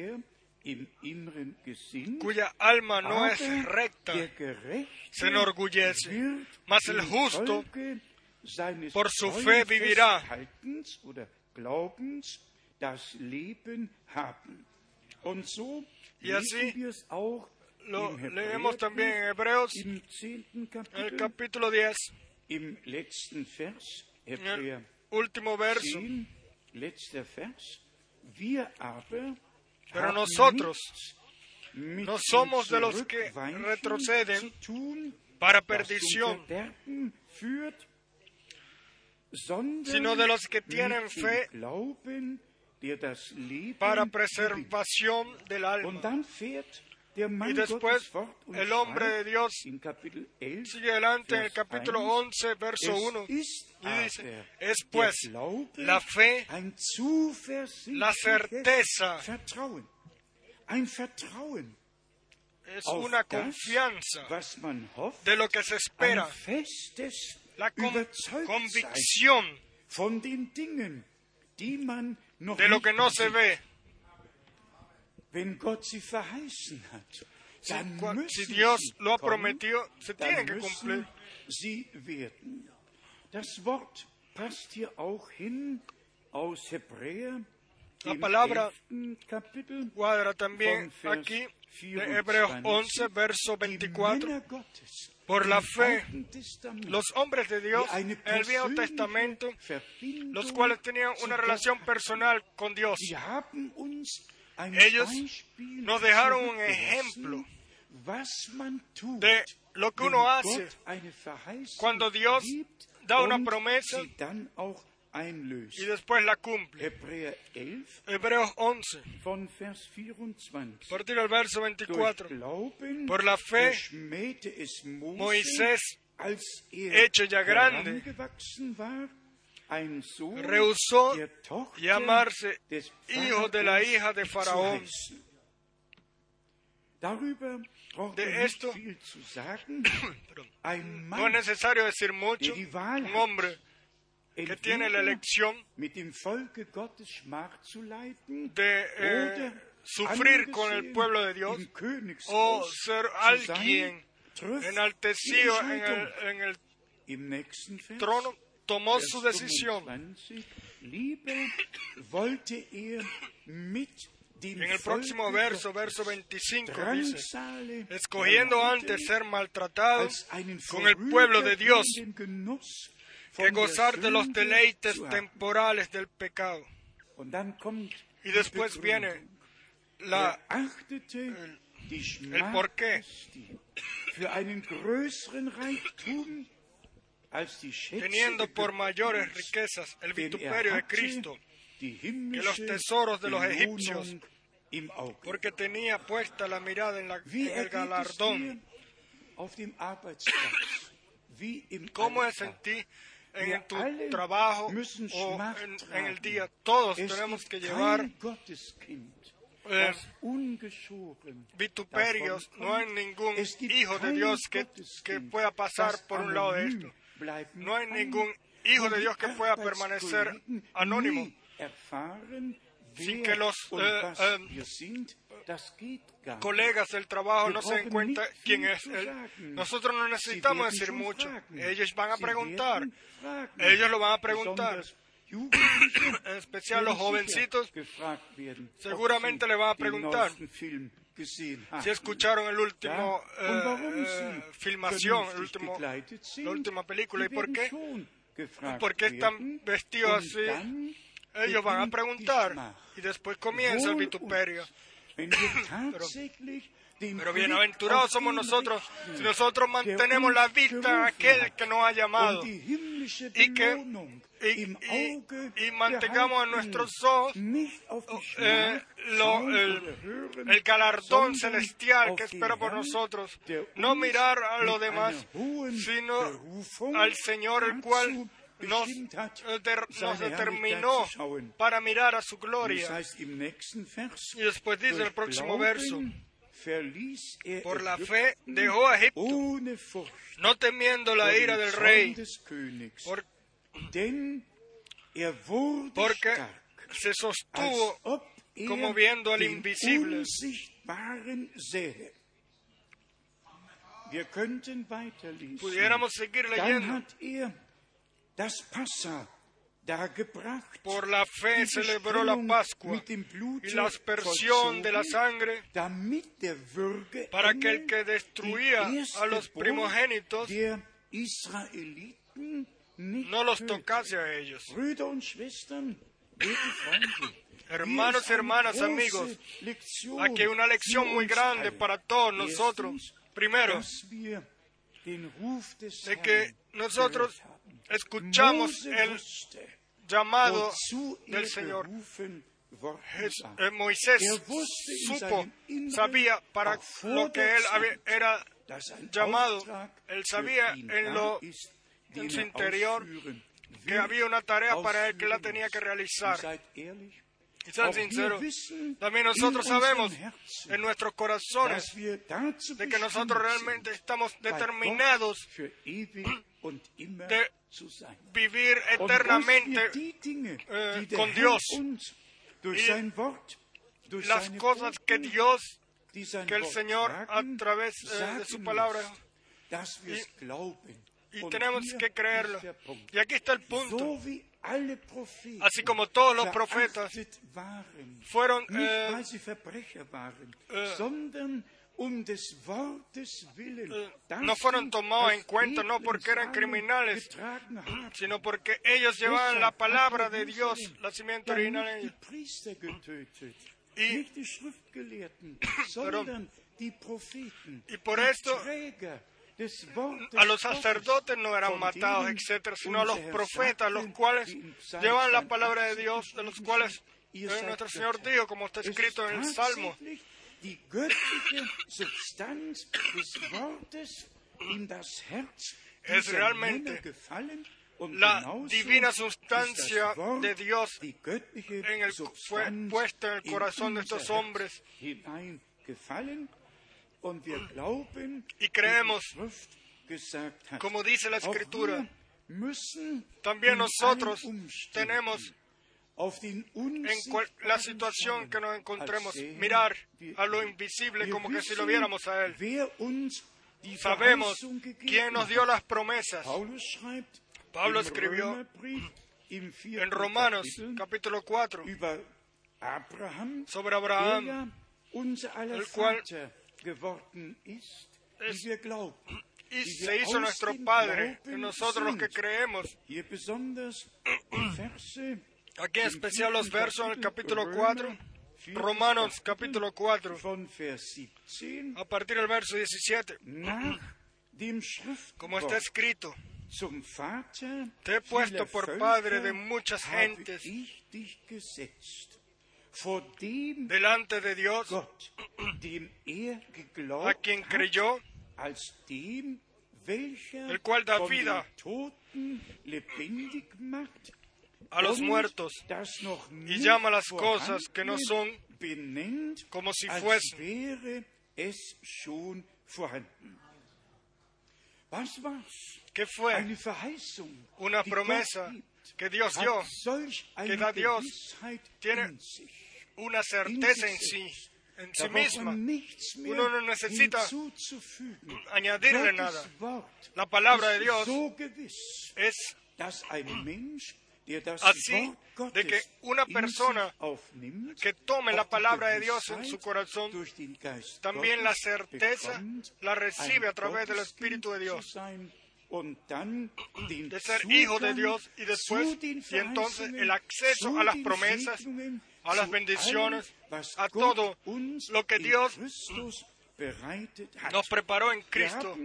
cuya alma no es recta se enorgullece, mas el justo por su fe vivirá. Y así lo leemos también en Hebreos, en el capítulo diez, en el último verso. Pero nosotros no somos de los que retroceden para perdición, sino de los que tienen fe para preservación del alma. Y después el hombre de Dios sigue adelante en el capítulo once, verso uno, y dice, es pues la fe, la certeza, es una confianza de lo que se espera, la con- convicción de lo que no se ve. Si, cua- si Dios lo ha prometido, se tiene que cumplir. La palabra cuadra también aquí de Hebreos once, verso veinticuatro. Por la fe, los hombres de Dios en el Viejo Testamento, los cuales tenían una relación personal con Dios, ellos nos dejaron un ejemplo de lo que uno hace cuando Dios da una promesa y después la cumple. Hebreos once, a partir del verso veinticuatro. Por la fe, Moisés, hecho ya grande, rehusó llamarse hijo de la hija de Faraón. De esto no es necesario decir mucho. Un hombre que tiene la elección de eh, sufrir con el pueblo de Dios o ser alguien enaltecido en el, en el trono, tomó su decisión. En el próximo verso, verso veinticinco, dice: escogiendo antes ser maltratado con el pueblo de Dios que gozar de los deleites temporales del pecado. Y después viene la, el, el porqué. Teniendo por mayores riquezas el vituperio de Cristo que los tesoros de los egipcios, porque tenía puesta la mirada en, la, en el galardón. ¿Cómo es en ti, en tu trabajo o en, en el día? Todos tenemos que llevar eh, vituperios. No hay ningún hijo de Dios que, que pueda pasar por un lado de esto. No hay ningún hijo de Dios que pueda permanecer anónimo sin que los eh, eh, colegas del trabajo no se den cuenta quién es él. Nosotros no necesitamos decir mucho. Ellos van a preguntar. Ellos lo van a preguntar. En especial los jovencitos seguramente le van a preguntar si escucharon el último eh, eh, filmación, el último, la última película. ¿Y por qué? ¿Por qué están vestidos así? Ellos van a preguntar y después comienza el vituperio. Pero, pero bienaventurados somos nosotros si nosotros mantenemos la vista en aquel que nos ha llamado y que y, y, y mantengamos en nuestros ojos eh, lo, el, el galardón celestial que espera por nosotros. No mirar a lo demás, sino al Señor, el cual Nos, nos determinó para mirar a su gloria. Y después dice el próximo verso: por la fe dejó a Egipto, no temiendo la ira del rey, por, porque se sostuvo como viendo al invisible. Pudiéramos seguir leyendo. Por la fe celebró la Pascua y la aspersión de la sangre para que el que destruía a los primogénitos no los tocase a ellos. Hermanos y hermanas, amigos, aquí hay una lección muy grande para todos nosotros. Primero, de que nosotros escuchamos el llamado del Señor. Eh, Moisés supo, sabía para lo que él había, era llamado. Él sabía en, lo, en su interior que había una tarea para él que la tenía que realizar. Y sean sinceros, también nosotros sabemos en nuestros corazones de que nosotros realmente estamos determinados de vivir eternamente eh, con Dios. Y las cosas que Dios, que el Señor a través eh, de su palabra, y, y tenemos que creerlo. Y aquí está el punto. Así como todos los profetas fueron eh, eh, eh, no fueron tomados en cuenta no porque eran criminales, sino porque ellos llevaban la palabra de Dios, la simiente original en ellos. Y, pero, y por esto a los sacerdotes no eran matados, etcétera, sino a los profetas, los cuales llevan la palabra de Dios, de los cuales eh, nuestro Señor dijo, como está escrito en el Salmo, es realmente la divina sustancia de Dios en el, fue puesta en el corazón de estos hombres. Y creemos, como dice la Escritura, también nosotros tenemos, en cual, la situación que nos encontremos, mirar a lo invisible como que si lo viéramos a Él. Sabemos quién nos dio las promesas. Pablo escribió en Romanos capítulo cuatro sobre Abraham, el cual es, y se hizo nuestro Padre, y nosotros los que creemos. Aquí en especial los versos en el capítulo cuatro, Romanos capítulo cuatro, a partir del verso diecisiete. Como está escrito, te he puesto por padre de muchas gentes delante de Dios, a quien creyó, el cual da vida a los muertos y llama las cosas que no son como si fuesen. ¿Qué fue? Una promesa que Dios dio, que da Dios, tiene una certeza en sí, en sí misma. Uno no necesita añadirle nada. La palabra de Dios es así, de que una persona que tome la palabra de Dios en su corazón, también la certeza la recibe a través del Espíritu de Dios, de ser hijo de Dios, y después, y entonces el acceso a las promesas, a las bendiciones, a todo lo que Dios nos preparó en Cristo.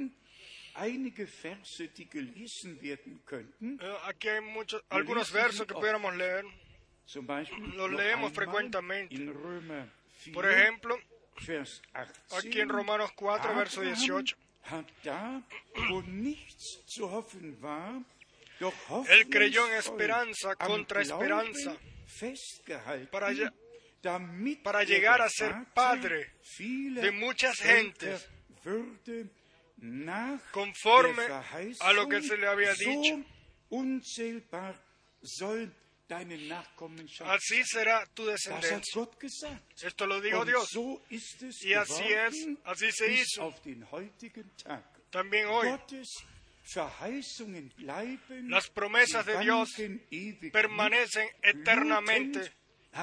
Aquí hay muchos, algunos versos que pudiéramos leer. Los leemos frecuentemente. Por ejemplo, aquí en Romanos cuatro, verso dieciocho. Él creyó en esperanza contra esperanza para, para llegar a ser padre de muchas gentes, conforme a lo que se le había dicho. Así será tu descendencia. Esto lo dijo Dios. Y así es, así se hizo. También hoy, las promesas de Dios permanecen eternamente.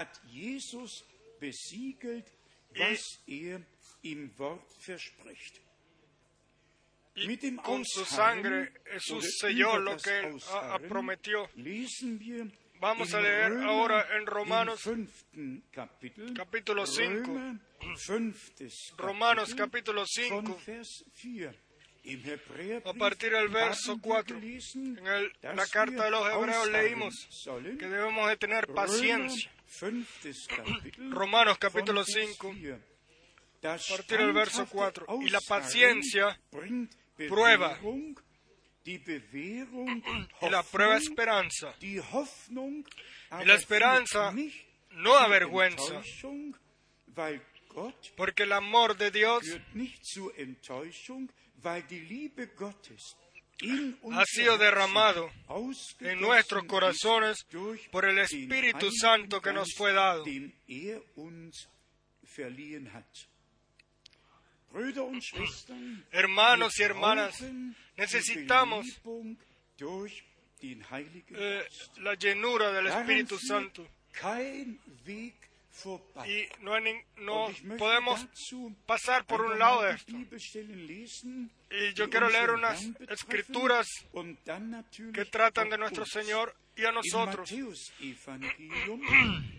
Y con su sangre Jesús selló lo que Él ha, ha prometió. Vamos a leer ahora en Romanos capítulo cinco. Romanos capítulo cinco. A partir del verso cuatro. En el, la carta de los Hebreos leímos que debemos de tener paciencia. Romanos capítulo cinco. A partir del verso cuatro. Y la paciencia prueba. Y la prueba esperanza. Y la esperanza no avergüenza, porque el amor de Dios ha sido derramado en nuestros corazones por el Espíritu Santo que nos fue dado. Hermanos y hermanas, necesitamos eh, la llenura del Espíritu Santo. Y no, hay ni, no podemos pasar por un lado de esto. Y yo quiero leer unas escrituras que tratan de nuestro Señor y a nosotros.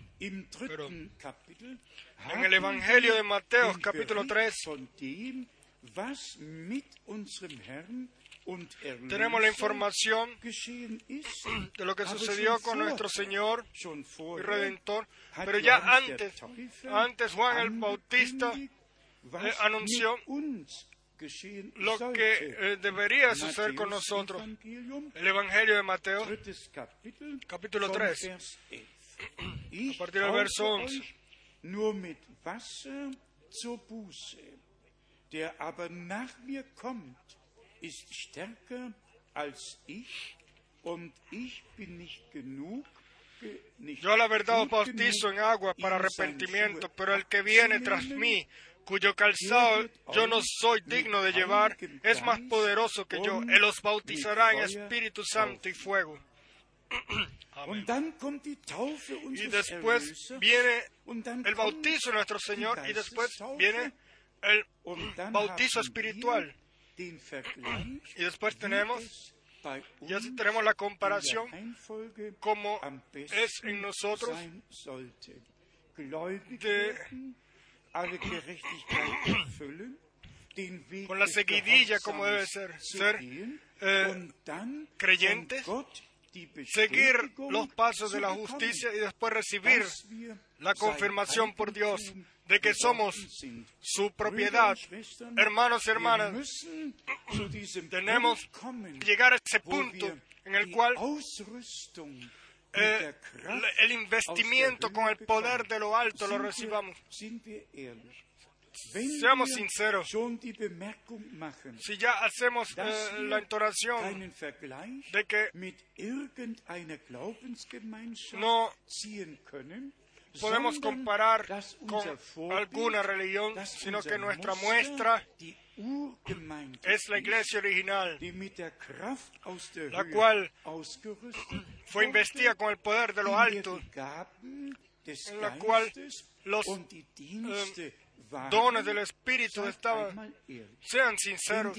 Pero en el Evangelio de Mateo, capítulo tres, tenemos la información de lo que sucedió con nuestro Señor y Redentor, pero ya antes, antes Juan el Bautista eh, anunció lo que eh, debería suceder con nosotros. El Evangelio de Mateo, capítulo tres, a partir del verso once. Nur mit Wasser zur Buße. Der aber nach mir kommt, ist stärker als ich, und ich bin nicht genug. Yo la verdad os bautizo en agua para arrepentimiento, pero el que viene tras mí, cuyo calzado yo no soy digno de llevar, es más poderoso que yo. Él os bautizará en Espíritu Santo y fuego. Y después viene el bautizo de nuestro Señor, y después viene el bautizo espiritual. Y después tenemos, ya tenemos la comparación como es en nosotros de, con la seguidilla como debe ser, ser eh, creyentes, seguir los pasos de la justicia y después recibir la confirmación por Dios de que somos su propiedad. Hermanos y hermanas, tenemos que llegar a ese punto en el cual eh, el investimiento con el poder de lo alto lo recibamos. Seamos sinceros, si ya hacemos eh, la entonación de que no podemos comparar con alguna religión, sino que nuestra muestra es la iglesia original, la cual fue investida con el poder de lo alto, en la cual los eh, dones del Espíritu estaban. Sean sinceros.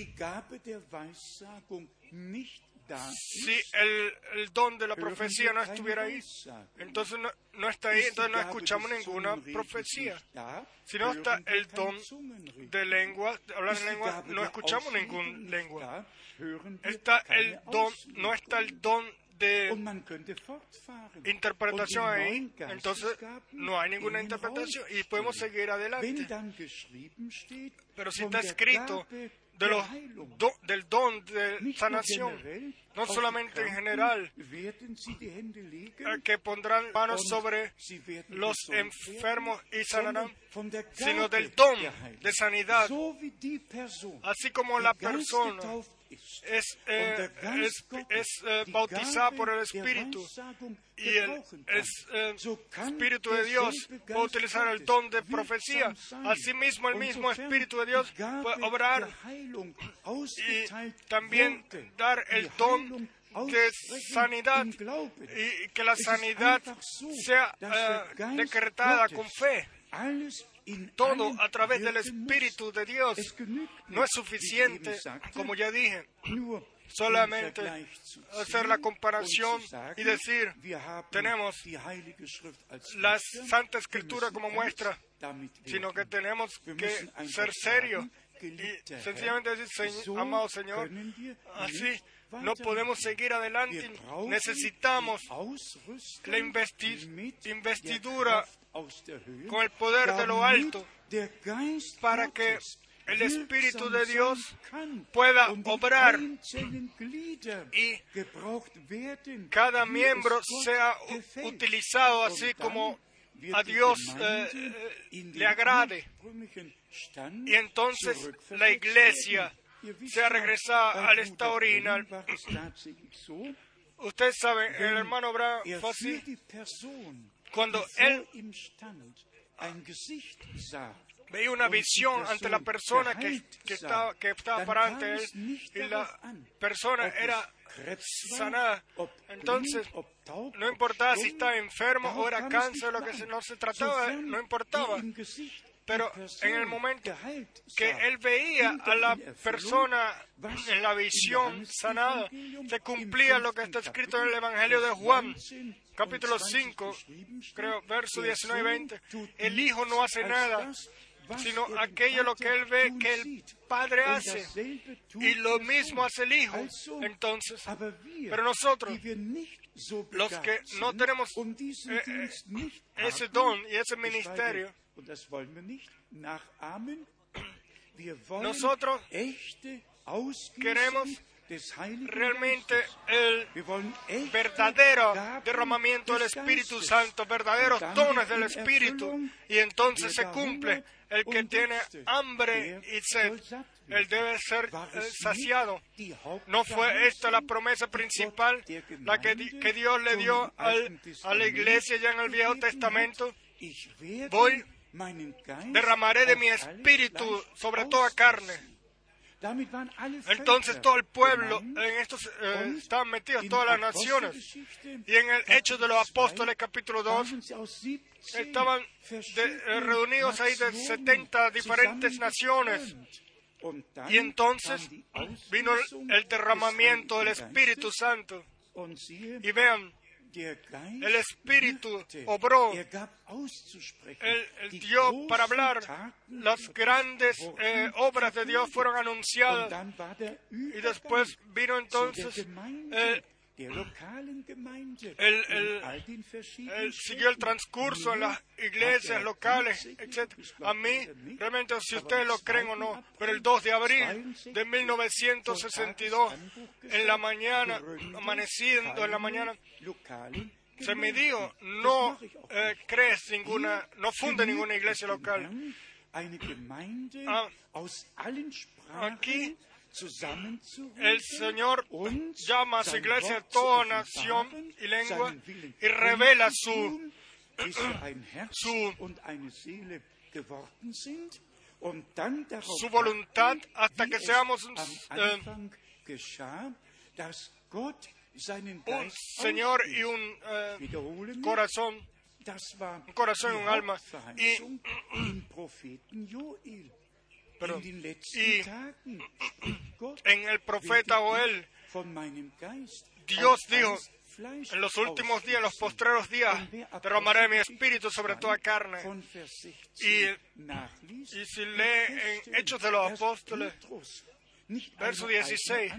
Si el, el don de la profecía no estuviera ahí, entonces no, no está ahí, entonces no escuchamos ninguna profecía. Si no está el don de lengua, de hablar en lengua, no escuchamos ninguna lengua. Está el don, no está el don de interpretación ahí, entonces no hay ninguna interpretación y podemos seguir adelante. Pero si está escrito de los do, del don de sanación, no solamente en general, que pondrán manos sobre los enfermos y sanarán, sino del don de sanidad, así como la persona es, eh, es, es eh, bautizada por el Espíritu y el es, eh, Espíritu de Dios va a utilizar el don de profecía. Asimismo, el mismo Espíritu de Dios puede obrar y también dar el don de sanidad y que la sanidad sea eh, decretada con fe. Todo a través del Espíritu de Dios. No es suficiente, como ya dije, solamente hacer la comparación y decir, tenemos la Santa Escritura como muestra, sino que tenemos que ser serios y sencillamente decir, amado Señor, así no podemos seguir adelante. Necesitamos la investi- investidura con el poder de lo alto para que el Espíritu de Dios pueda obrar y cada miembro sea utilizado así como a Dios eh, le agrade. Y entonces la iglesia sea regresada al estado original. Ustedes saben, el hermano Branham fue así. Cuando él veía una visión ante la persona que, que, estaba, que estaba para ante él y la persona era sanada, entonces no importaba si estaba enfermo o era cáncer, lo que se, no se trataba, no importaba. Pero en el momento que él veía a la persona en la visión sanada, se cumplía lo que está escrito en el Evangelio de Juan, capítulo cinco, creo, versos diecinueve y veinte. El Hijo no hace nada sino aquello lo que él ve que el Padre hace, y lo mismo hace el Hijo. Entonces, pero nosotros, los que no tenemos eh, eh, ese don y ese ministerio, nosotros queremos realmente el verdadero derramamiento del Espíritu Santo, verdaderos dones del Espíritu, y entonces se cumple. El que tiene hambre y sed, él debe ser eh, saciado. ¿No fue esta la promesa principal, la que, que Dios le dio al, a la iglesia ya en el Viejo Testamento? Voy, derramaré de mi Espíritu sobre toda carne. Entonces todo el pueblo, en estos eh, estaban metidos, todas las naciones, y en el Hechos de los Apóstoles capítulo dos, estaban de, eh, reunidos ahí de setenta diferentes naciones, y entonces vino el, el derramamiento del Espíritu Santo, y vean, el Espíritu obró, Él, él dio para hablar, las grandes eh, obras de Dios fueron anunciadas, y después vino entonces eh, él, él, él siguió el transcurso en las iglesias locales, etcétera. A mí, realmente, si ustedes lo creen o no, pero el dos de abril de mil novecientos sesenta y dos, en la mañana, amaneciendo en la mañana, se me dijo, no eh, crees ninguna, no funde ninguna iglesia local. Ah, aquí el Señor llama a su iglesia de toda nación y lengua y revela su, su, su voluntad hasta que seamos un, eh, un Señor y un eh, corazón, un corazón y un alma. Y, Pero, y en el profeta Joel, Dios dijo, en los últimos días, en los postreros días, derramaré mi espíritu sobre toda carne. Y, y si lee en Hechos de los Apóstoles, verso dieciséis,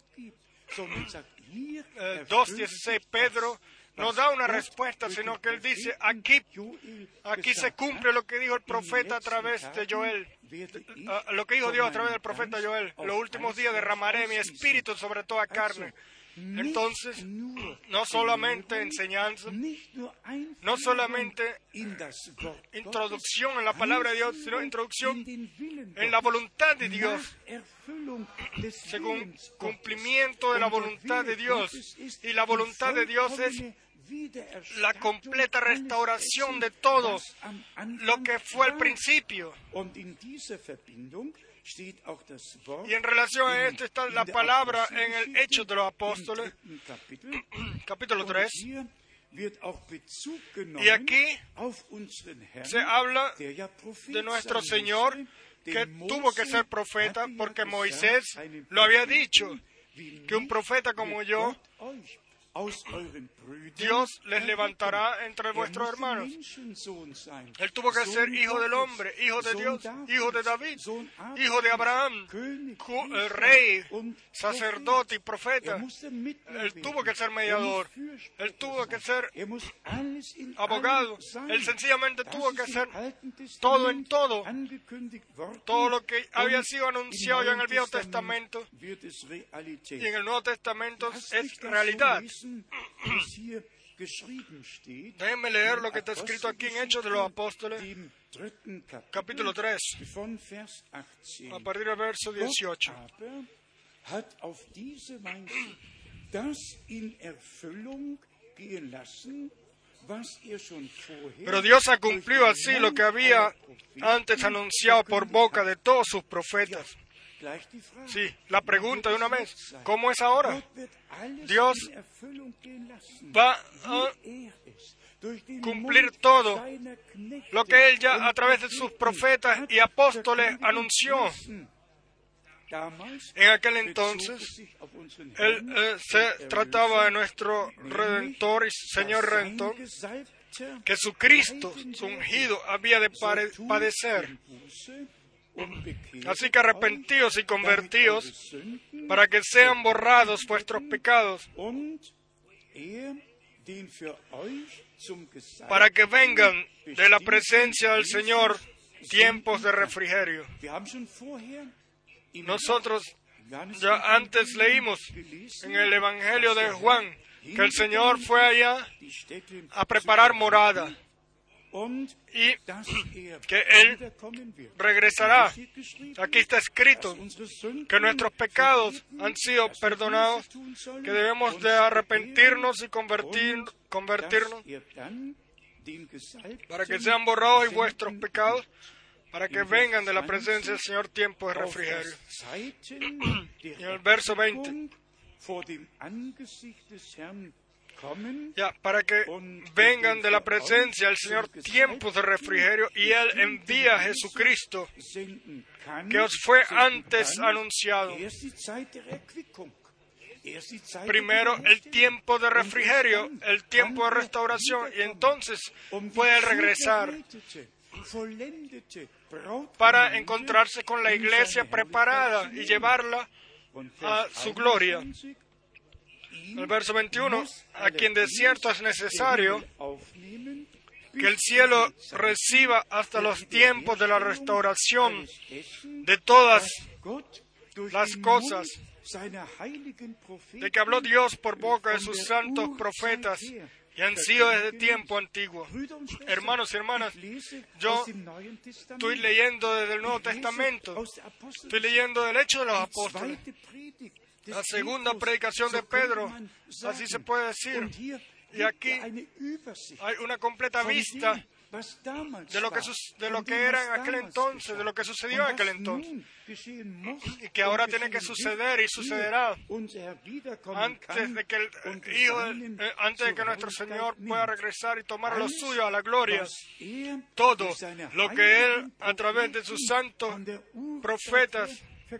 eh, dos dieciséis, Pedro no da una respuesta, sino que él dice, aquí, aquí se cumple lo que dijo el profeta a través de Joel, uh, lo que dijo Dios a través del profeta Joel, los últimos días derramaré mi espíritu sobre toda carne. Entonces, no solamente enseñanza, no solamente introducción en la palabra de Dios, sino introducción en la voluntad de Dios, según cumplimiento de la voluntad de Dios. Y la voluntad de Dios es la completa restauración de todo lo que fue al principio. Y en relación a esto está la palabra en el Hechos de los Apóstoles, capítulo tres. Y aquí se habla de nuestro Señor, que tuvo que ser profeta, porque Moisés lo había dicho, que un profeta como yo, Dios les levantará entre vuestros hermanos. Él tuvo que ser hijo del hombre, hijo de Dios, hijo de David, hijo de Abraham, rey, sacerdote y profeta. Él tuvo que ser mediador. Él tuvo que ser abogado. Él sencillamente tuvo que ser todo en todo. Todo lo que había sido anunciado ya en el Viejo Testamento y en el Nuevo Testamento es realidad. Déjenme leer lo que está escrito aquí en Hechos de los Apóstoles, capítulo tres, a partir del verso dieciocho. Pero Dios ha cumplido así lo que había antes anunciado por boca de todos sus profetas. Sí, la pregunta de una vez, ¿cómo es ahora? Dios va a cumplir todo lo que Él ya a través de sus profetas y apóstoles anunció. En aquel entonces, Él eh, se trataba de nuestro Redentor y Señor Redentor, que su Cristo, su ungido, había de pare- padecer. Así que arrepentíos y convertíos para que sean borrados vuestros pecados, para que vengan de la presencia del Señor tiempos de refrigerio. Nosotros ya antes leímos en el Evangelio de Juan que el Señor fue allá a preparar morada y que Él regresará. Aquí está escrito que nuestros pecados han sido perdonados, que debemos de arrepentirnos y convertir, convertirnos para que sean borrados y vuestros pecados, para que vengan de la presencia del Señor tiempos de refrigerio. Y en el verso veinte, ya, para que vengan de la presencia del Señor tiempos de refrigerio, y Él envía a Jesucristo, que os fue antes anunciado. Primero el tiempo de refrigerio, el tiempo de restauración, y entonces puede regresar para encontrarse con la iglesia preparada y llevarla a su gloria. El verso veintiuno, a quien de cierto es necesario que el cielo reciba hasta los tiempos de la restauración de todas las cosas, de que habló Dios por boca de sus santos profetas, y han sido desde tiempo antiguo. Hermanos y hermanas, yo estoy leyendo desde el Nuevo Testamento, estoy leyendo del Hecho de los Apóstoles, la segunda predicación de Pedro, así se puede decir. Y aquí hay una completa vista de lo que, de lo que era en aquel entonces, de lo que sucedió en aquel entonces, y que ahora tiene que suceder y sucederá antes de que el Hijo, eh, antes de que nuestro Señor pueda regresar y tomar lo suyo a la gloria. Todo lo que Él, a través de sus santos profetas,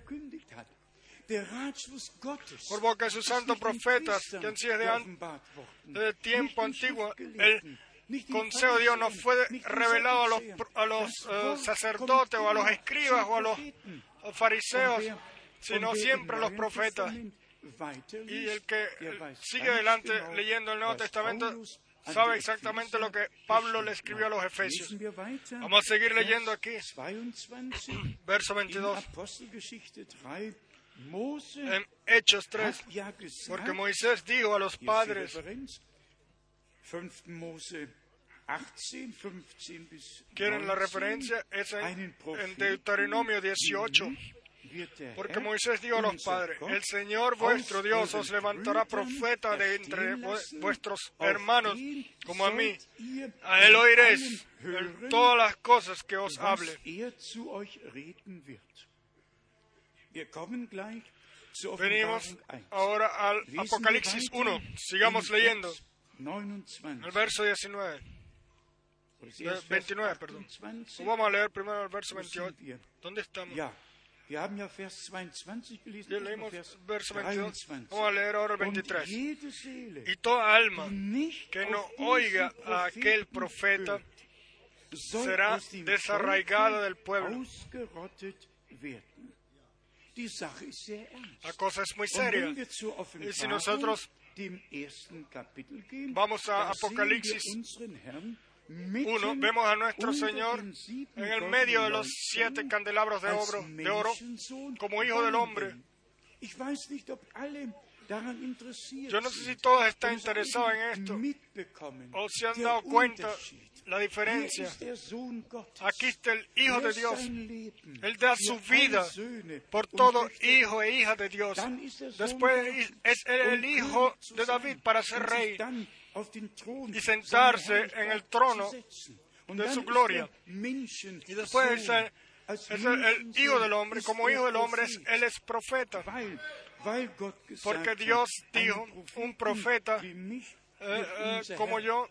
por boca de sus santos profetas, que han sido desde de tiempo antiguo, el consejo de Dios no fue revelado a los, a los uh, sacerdotes o a los escribas o a los uh, fariseos, sino siempre a los profetas. Y el que sigue adelante leyendo el Nuevo Testamento sabe exactamente lo que Pablo le escribió a los Efesios. Vamos a seguir leyendo aquí, verso veintidós. En Hechos tres, porque Moisés dijo a los padres, ¿quieren la referencia? Es en, en Deuteronomio dieciocho, porque Moisés dijo a los padres, el Señor vuestro Dios os levantará profeta de entre vuestros hermanos como a mí, a Él oiréis en todas las cosas que os hable. Venimos ahora al Apocalipsis uno. Sigamos leyendo. El verso diecinueve. veintinueve, perdón. Vamos a leer primero el verso veintiocho. ¿Dónde estamos? Ya leímos el verso veintidós. Vamos a leer ahora el veintitrés. Y toda alma que no oiga a aquel profeta será desarraigada del pueblo. La cosa es muy seria. Y si nosotros vamos a Apocalipsis uno, vemos a nuestro Señor en el medio de los siete candelabros de oro, de oro como Hijo del Hombre. Yo no sé si todos están interesados en esto o se han dado cuenta la diferencia. Aquí está el Hijo de Dios. Él da su vida por todo hijo e hija de Dios. Después es el Hijo de David para ser rey y sentarse en el trono de su gloria. Y después es el, es el, el Hijo del Hombre. Como Hijo del Hombre, es, Él es profeta. Porque Dios dijo, un profeta eh, eh, como yo,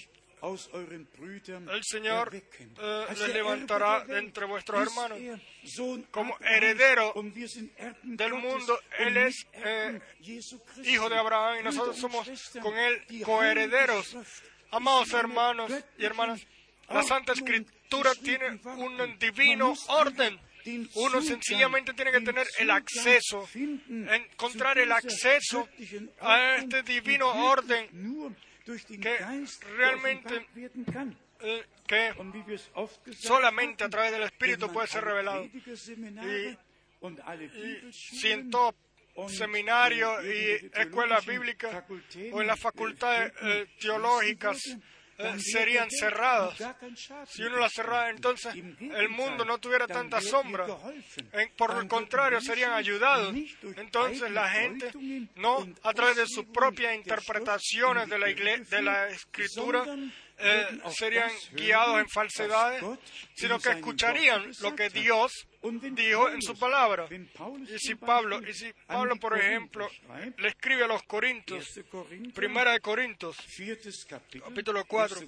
el Señor eh, les levantará de entre vuestros hermanos. Como heredero del mundo, Él es eh, hijo de Abraham y nosotros somos con Él coherederos Amados hermanos y hermanas, la Santa Escritura tiene un divino orden. Uno sencillamente tiene que tener el acceso, encontrar el acceso a este divino orden que realmente eh, que solamente a través del Espíritu puede ser revelado. Y, y si en todo seminario y escuelas bíblicas o en las facultades eh, teológicas eh, serían cerradas, si uno las cerrara, entonces el mundo no tuviera tanta sombra. En, por el contrario, serían ayudados. Entonces la gente, no a través de sus propias interpretaciones de la, igle- de la Escritura, eh, serían guiados en falsedades, sino que escucharían lo que Dios dijo en su palabra. Y si Pablo, y si Pablo, por ejemplo, le escribe a los Corintios, Primera de Corintios, capítulo cuatro,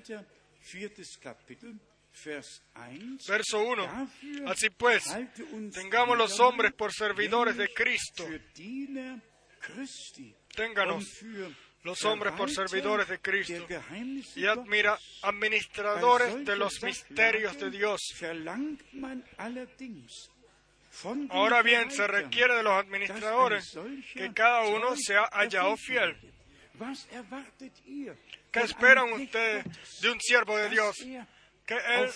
verso uno. Así pues, tengamos los hombres por servidores de Cristo. Ténganos los hombres por servidores de Cristo y admira, administradores de los misterios de Dios. Ahora bien, se requiere de los administradores que cada uno sea hallado fiel. ¿Qué esperan ustedes de un siervo de Dios? Que él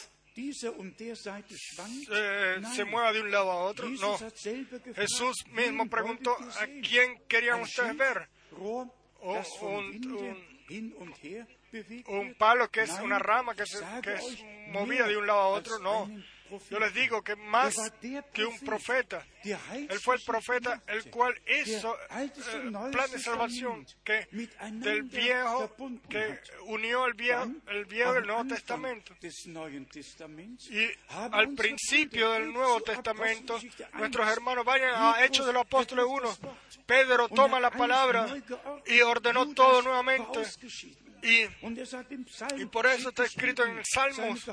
eh, se mueva de un lado a otro. No. Jesús mismo preguntó: ¿a quién querían ustedes ver? O un, un, un palo que es una rama que, se, que es movida de un lado a otro. No. Yo les digo que más que un profeta, él fue el profeta el cual hizo el eh, plan de salvación que del viejo, que unió el viejo, el viejo y el Nuevo Testamento. Y al principio del Nuevo Testamento, nuestros hermanos vayan a Hechos de los Apóstoles uno. Pedro toma la palabra y ordenó todo nuevamente. Y, y por eso está escrito en Salmos: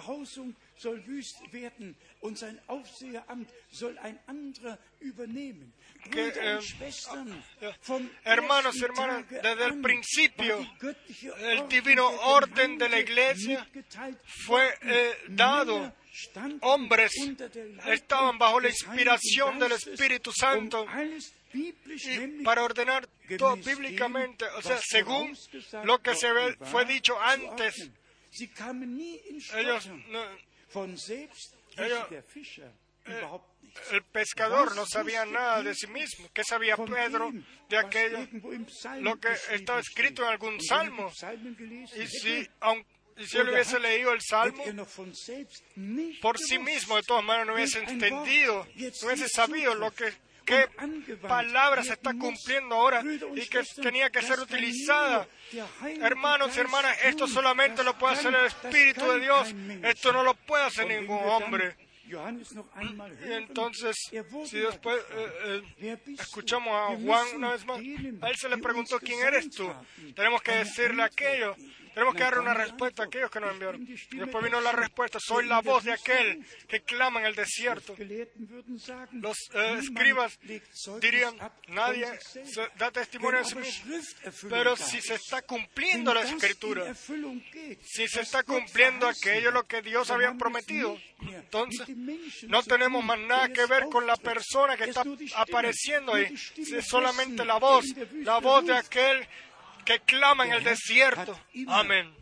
que, eh, hermanos y hermanas, desde el principio el divino orden de la iglesia fue eh, dado. Hombres estaban bajo la inspiración del Espíritu Santo y para ordenar todo bíblicamente, o sea, según lo que se ve, fue dicho antes. Ellos no, ellos, eh, el pescador no sabía nada de sí mismo. ¿Qué sabía Pedro de aquello? Lo que estaba escrito en algún salmo. Y si, aun, y si él hubiese leído el salmo por sí mismo, de todas maneras no hubiese entendido, no hubiese sabido lo que qué palabra se está cumpliendo ahora y que tenía que ser utilizada. Hermanos y hermanas, esto solamente lo puede hacer el Espíritu de Dios. Esto no lo puede hacer ningún hombre. Y entonces, si después eh, eh, escuchamos a Juan una vez más, a él se le preguntó: ¿quién eres tú? Tenemos que decirle aquello. Tenemos que darle una respuesta a aquellos que nos enviaron. Y después vino la respuesta: soy la voz de aquel que clama en el desierto. Los eh, escribas dirían: nadie se da testimonio de sí mismo. Pero si se está cumpliendo la Escritura, si se está cumpliendo aquello lo que Dios había prometido, entonces no tenemos más nada que ver con la persona que está apareciendo ahí. Es solamente la voz, la voz de aquel que clama en el desierto. Amén.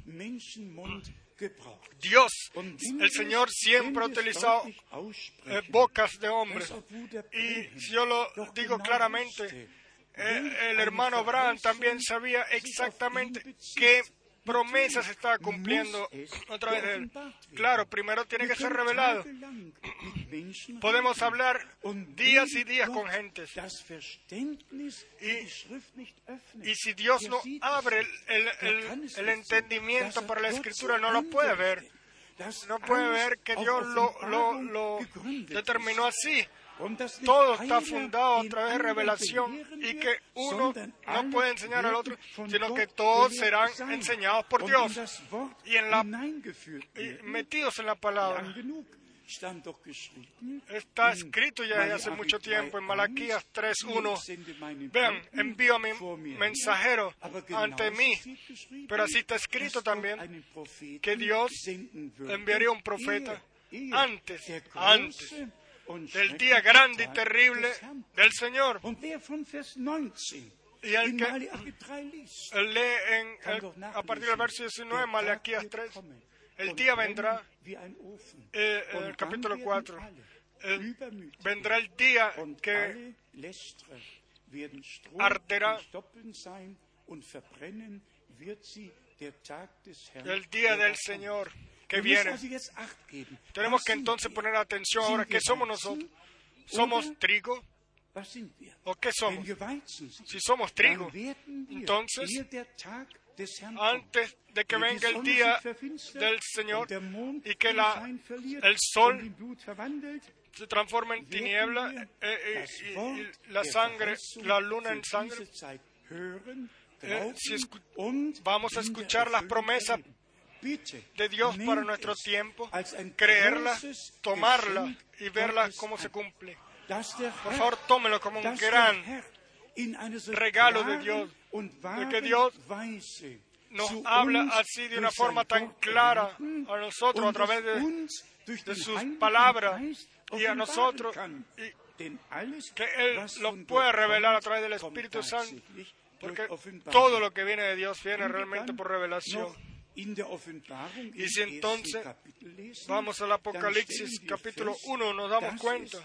Dios, el Señor, siempre ha utilizado eh, bocas de hombres. Y si yo lo digo claramente, eh, el hermano Abraham también sabía exactamente qué promesa se estaba cumpliendo a través de él. Claro, primero tiene que ser revelado. Podemos hablar días y días con gentes. Y, y si Dios no abre el, el, el, el entendimiento para la Escritura, no lo puede ver. No puede ver que Dios lo, lo, lo determinó así. Todo está fundado a través de revelación y que uno no puede enseñar al otro, sino que todos serán enseñados por Dios y, en la, y metidos en la palabra. Está escrito ya desde hace mucho tiempo en Malaquías tres uno. Vean, envío a mi mensajero ante mí. Pero así está escrito también que Dios enviaría un profeta antes, antes del día grande y terrible del Señor. Y el que él lee en, el, a partir del verso diecinueve, Malaquías tres, el día vendrá, eh, en el capítulo cuatro, eh, vendrá el día que arderá, el día del Señor que viene. Tenemos que entonces poner atención ahora. ¿Qué somos nosotros? ¿Somos trigo? ¿O qué somos? Si somos trigo, entonces, antes de que venga el día del Señor y que la, el sol se transforme en tiniebla eh, y, y, y la sangre, la luna en sangre, eh, si escu- vamos a escuchar las promesas de Dios para nuestro tiempo, creerlas, tomarlas y verlas cómo se cumple. Por favor, tómelo como un gran regalo de Dios, de que Dios nos habla así de una forma tan clara a nosotros a través de, de sus palabras y a nosotros, y que Él lo puede revelar a través del Espíritu Santo, porque todo lo que viene de Dios viene realmente por revelación. Y si entonces vamos al Apocalipsis capítulo uno, nos damos cuenta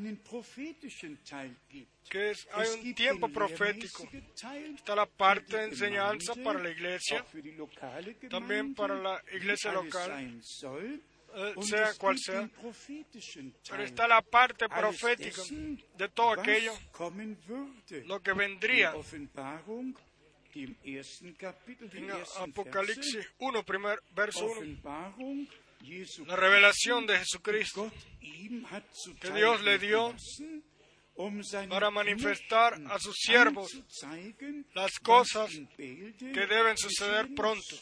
que es, hay un tiempo profético. Está la parte de enseñanza para la iglesia, también para la iglesia local, eh, sea cual sea. Pero está la parte profética de todo aquello, lo que vendría. En Apocalipsis uno, primer verso uno, la revelación de Jesucristo que Dios le dio para manifestar a sus siervos las cosas que deben suceder pronto.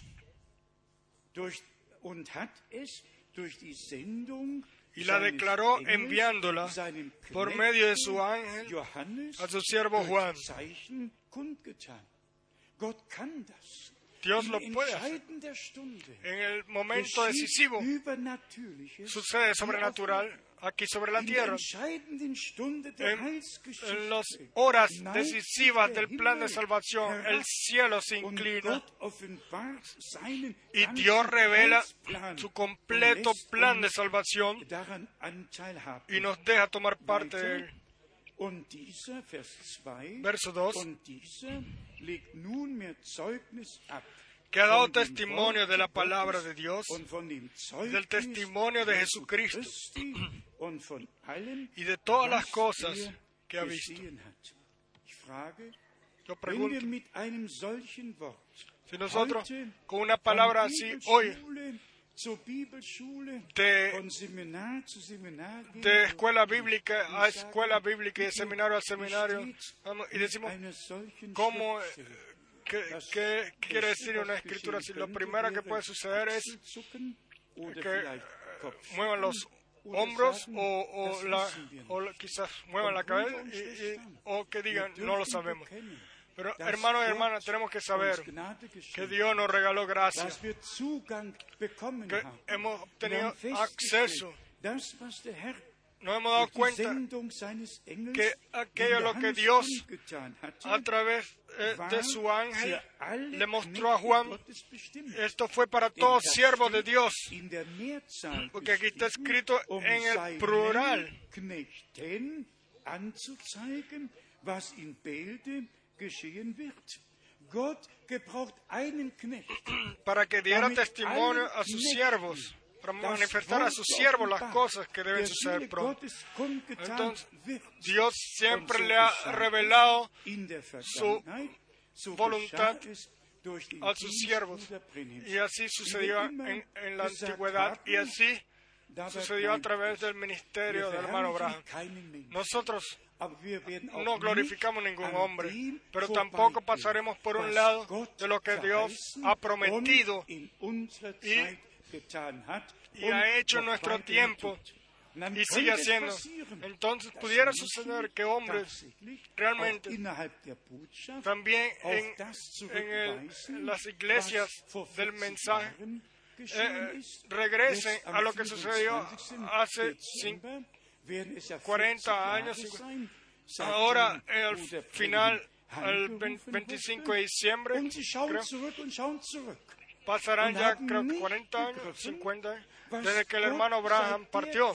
Y la declaró enviándola por medio de su ángel a su siervo Juan. Dios lo puede hacer. En el momento decisivo sucede sobrenatural aquí sobre la tierra. En, en las horas decisivas del plan de salvación, el cielo se inclina y Dios revela su completo plan de salvación y nos deja tomar parte de él. Verso dos, que ha dado testimonio de la palabra de Dios, del testimonio de Jesucristo y de todas las cosas que ha visto. Yo pregunto, si nosotros con una palabra así hoy de, de escuela bíblica a escuela bíblica y de seminario a seminario, vamos, y decimos, ¿cómo, qué, qué quiere decir una escritura así? Lo primero que puede suceder es que muevan los hombros o, o, la, o quizás muevan la cabeza y, y, o que digan, no lo sabemos. Pero hermanos y hermanas, tenemos que saber que Dios nos regaló gracia, que hemos obtenido acceso. Nos hemos dado cuenta que aquello lo que Dios a través eh, de su ángel le mostró a Juan, esto fue para todos siervos de Dios, porque aquí está escrito en el plural. Para que diera testimonio a sus siervos, para manifestar a sus siervos las cosas que deben suceder pronto. Entonces, Dios siempre le ha revelado su voluntad a sus siervos. Y así sucedió en, en la antigüedad, y así sucedió a través del ministerio del hermano Branham. Nosotros no glorificamos ningún hombre, pero tampoco pasaremos por un lado de lo que Dios ha prometido y, y ha hecho en nuestro tiempo y sigue haciendo. Entonces pudiera suceder que hombres realmente también en, en, el, en las iglesias del mensaje eh, regresen a lo que sucedió hace cuarenta años. Ahora, al final, el veinticinco de diciembre, creo, pasarán ya creo que cuarenta años, cincuenta años, desde que el hermano Branham partió.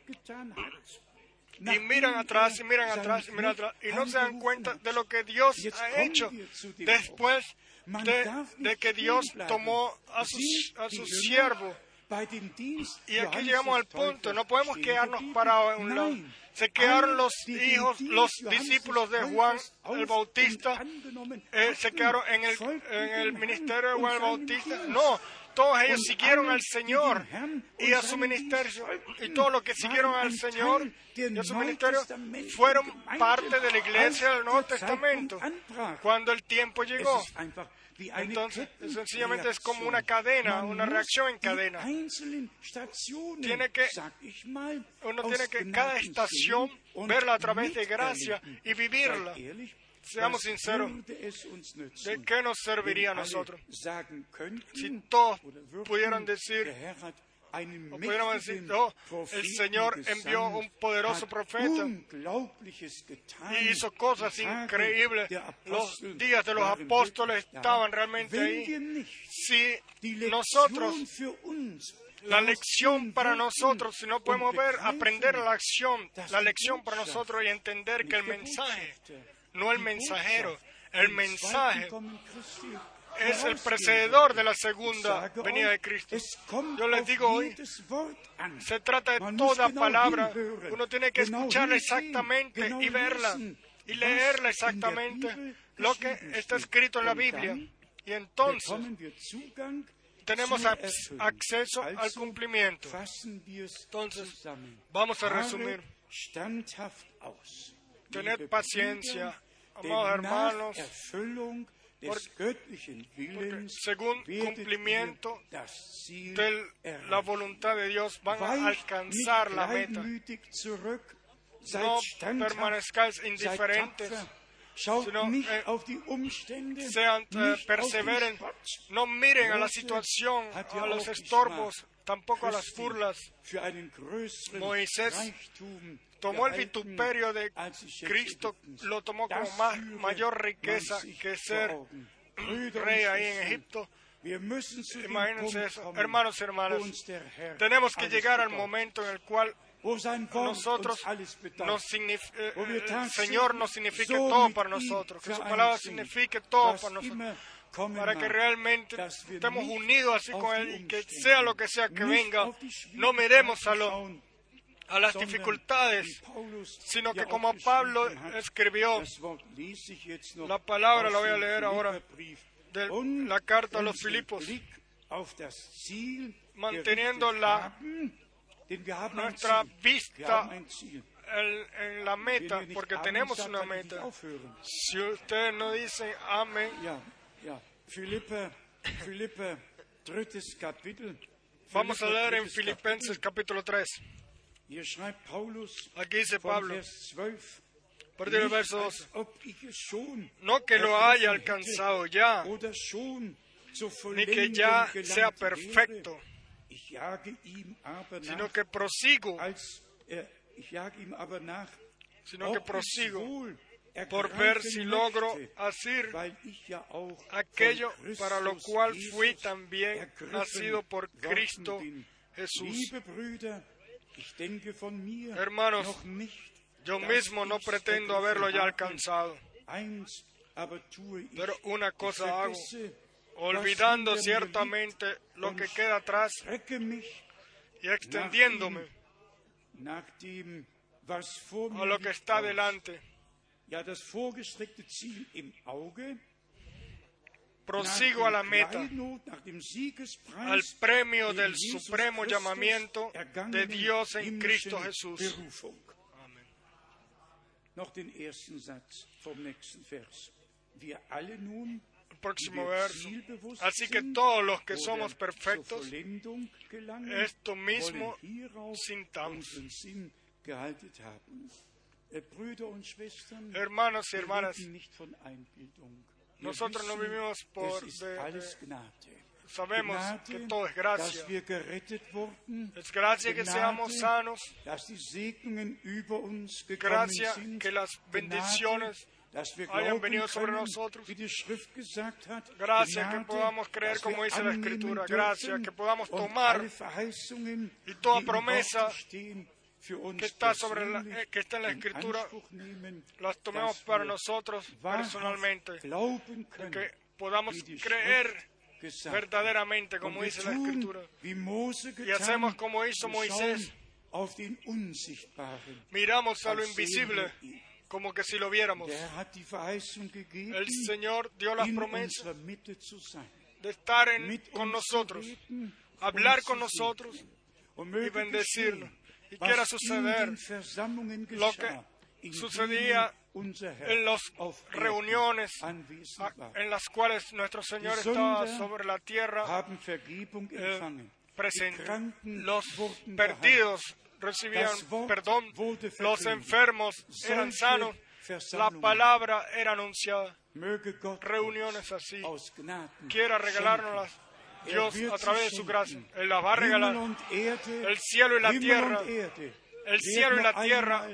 Y miran atrás, y miran atrás, y miran atrás, y no se dan cuenta de lo que Dios ha hecho después de, de que Dios tomó a su, a su siervo. Y aquí llegamos al punto, no podemos quedarnos parados en un lado. Se quedaron los hijos, los discípulos de Juan el Bautista, eh, se quedaron en el, en el ministerio de Juan el Bautista. No, todos ellos siguieron al Señor y a su ministerio. Y todos los que siguieron al Señor y a su ministerio fueron parte de la iglesia del Nuevo Testamento cuando el tiempo llegó. Entonces, sencillamente es como una cadena, una reacción en cadena. Tiene que, uno tiene que cada estación verla a través de gracia y vivirla. Seamos sinceros, ¿de qué nos serviría a nosotros? Si todos pudieran decir, o pudiéramos decir, oh, el Señor envió un poderoso profeta y hizo cosas increíbles. Los días de los apóstoles estaban realmente ahí. Si nosotros, la lección para nosotros, si no podemos ver, aprender la acción, la lección para nosotros y entender que el mensaje, no el mensajero, el mensaje es el precededor de la segunda venida de Cristo. Yo les digo hoy, se trata de toda palabra. Uno tiene que escucharla exactamente y verla y leerla exactamente lo que está escrito en la Biblia. Y entonces tenemos acceso al cumplimiento. Entonces, vamos a resumir. Tened paciencia, amados hermanos, Porque, porque según cumplimiento de la voluntad de Dios van a alcanzar la meta. No permanezcáis indiferentes, sino eh, sean eh, perseveren. No miren a la situación, a los estorbos, tampoco a las burlas. Moisés tomó el vituperio de Cristo, lo tomó como más, mayor riqueza que ser rey ahí en Egipto. Imagínense eso. Hermanos y hermanas, tenemos que llegar al momento en el cual nosotros, nos signifique, eh, el Señor nos signifique todo para nosotros, que su palabra signifique todo para nosotros, para que realmente estemos unidos así con Él y que sea lo que sea que venga, no miremos a lo a las dificultades, sino que como Pablo escribió, la palabra la voy a leer ahora, de la carta a los Filipos, manteniendo la, nuestra vista en, en la meta, porque tenemos una meta. Si ustedes no dicen amén, vamos a leer en Filipenses capítulo tres. Aquí dice Pablo, a partir del verso doce, no que lo haya alcanzado ya, ni que ya sea perfecto, sino que prosigo, sino que prosigo por ver si logro hacer aquello para lo cual fui también nacido por Cristo Jesús. Hermanos, yo mismo no pretendo haberlo ya alcanzado, pero una cosa hago, olvidando ciertamente lo que queda atrás y extendiéndome a lo que está delante. Prosigo a la meta, al premio del supremo llamamiento de Dios en Cristo Jesús. Amén. el próximo verso. Así que todos los que somos perfectos, esto mismo sintamos. Hermanos y hermanas, nosotros no vivimos por... De, de, sabemos que todo es gracia. Es gracia que seamos sanos. Gracia que las bendiciones hayan venido sobre nosotros. Gracias que podamos creer como dice la Escritura. Gracias que podamos tomar y toda promesa que está, sobre la, que está en la Escritura, las tomemos para nosotros personalmente. Que podamos creer verdaderamente como dice la Escritura. Y hacemos como hizo Moisés. Miramos a lo invisible como que si lo viéramos. El Señor dio las promesas de estar en, con nosotros, hablar con nosotros y bendecirnos. ¿Y qué era suceder? Lo que sucedía en las reuniones en las cuales nuestro Señor estaba sobre la tierra eh, presente. Los perdidos recibían perdón, los enfermos eran sanos, la palabra era anunciada. Reuniones así. Quiera regalárnoslas Dios a través de su gracia. Él las va a regalar. El cielo y la tierra, el cielo y la tierra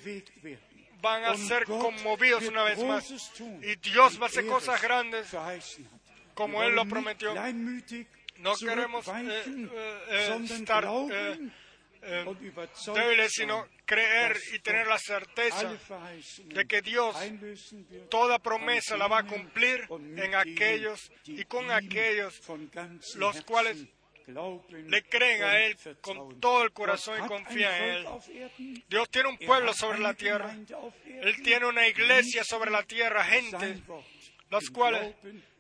van a ser conmovidos una vez más. Y Dios va a hacer cosas grandes como Él lo prometió. No queremos eh, eh, eh, estar eh, eh, débiles, sino creer y tener la certeza de que Dios toda promesa la va a cumplir en aquellos y con aquellos los cuales le creen a Él con todo el corazón y confían en Él. Dios tiene un pueblo sobre la tierra. Él tiene una iglesia sobre la tierra, gente, las cuales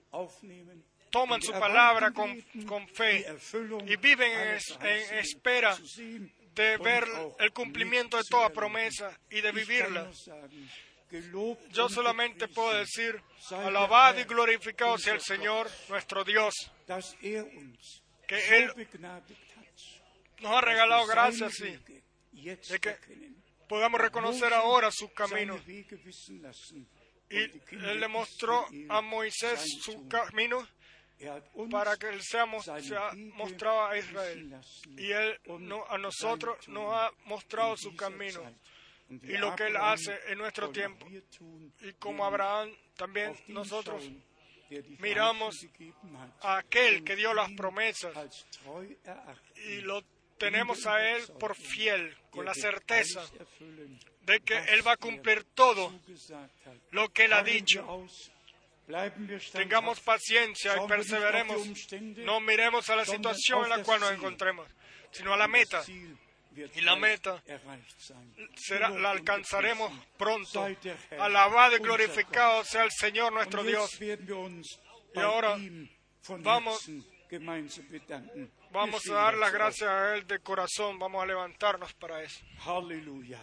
toman su palabra con, con fe y viven en, es, en espera de ver el cumplimiento de toda promesa y de vivirla. Yo solamente puedo decir, alabado y glorificado sea el Señor, nuestro Dios, que Él nos ha regalado gracias, sí, de que podamos reconocer ahora sus caminos. Y Él le mostró a Moisés su camino para que Él sea, sea mostrado a Israel. Y Él no, a nosotros nos ha mostrado su camino y lo que Él hace en nuestro tiempo. Y como Abraham, también nosotros miramos a aquel que dio las promesas y lo tenemos a Él por fiel, con la certeza de que Él va a cumplir todo lo que Él ha dicho. Tengamos paciencia y perseveremos. No miremos a la situación en la cual nos encontremos, sino a la meta. Y la meta será, la alcanzaremos pronto. Alabado y glorificado sea el Señor nuestro Dios. Y ahora vamos, vamos a dar las gracias a Él de corazón. Vamos a levantarnos para eso. Aleluya.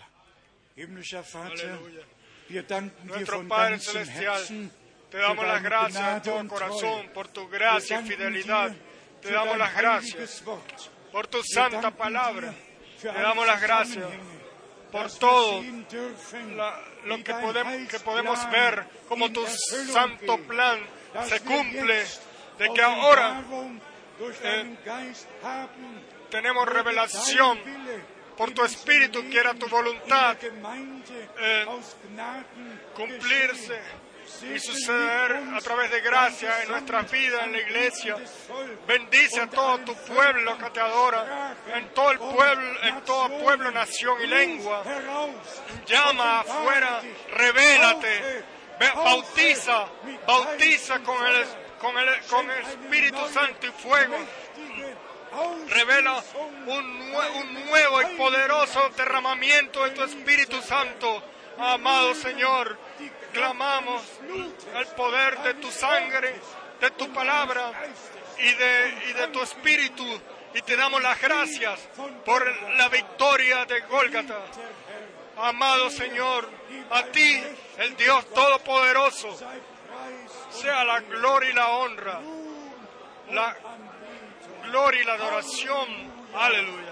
Nuestro Padre Celestial, te damos las gracias de todo corazón por tu gracia y fidelidad. Te damos las gracias por tu santa palabra. Te damos las gracias por todo la, lo que podemos, que podemos ver, como tu santo plan se cumple, de que ahora eh, tenemos revelación por tu Espíritu, que era tu voluntad eh, cumplirse y suceder a través de gracia en nuestras vidas, en la iglesia. Bendice a todo tu pueblo que te adora, en todo el pueblo, en todo pueblo, nación y lengua. Llama afuera, revélate, bautiza, bautiza con el, con el, con el Espíritu Santo y fuego. Revela un, un nuevo y poderoso derramamiento de tu Espíritu Santo. Amado Señor, clamamos el poder de tu sangre, de tu palabra y de, y de tu Espíritu, y te damos las gracias por la victoria de Gólgata. Amado Señor, a ti, el Dios Todopoderoso, sea la gloria y la honra, la gloria y la adoración. Aleluya.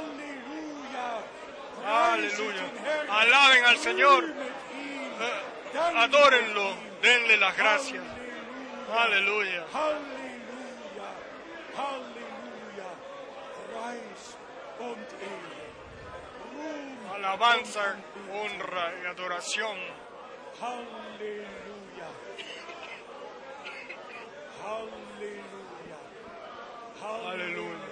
Aleluya. Alaben al Señor. Eh, adórenlo. Denle las gracias. Aleluya. Alabanza, honra y adoración. Halleluja. Halleluja. Aleluya.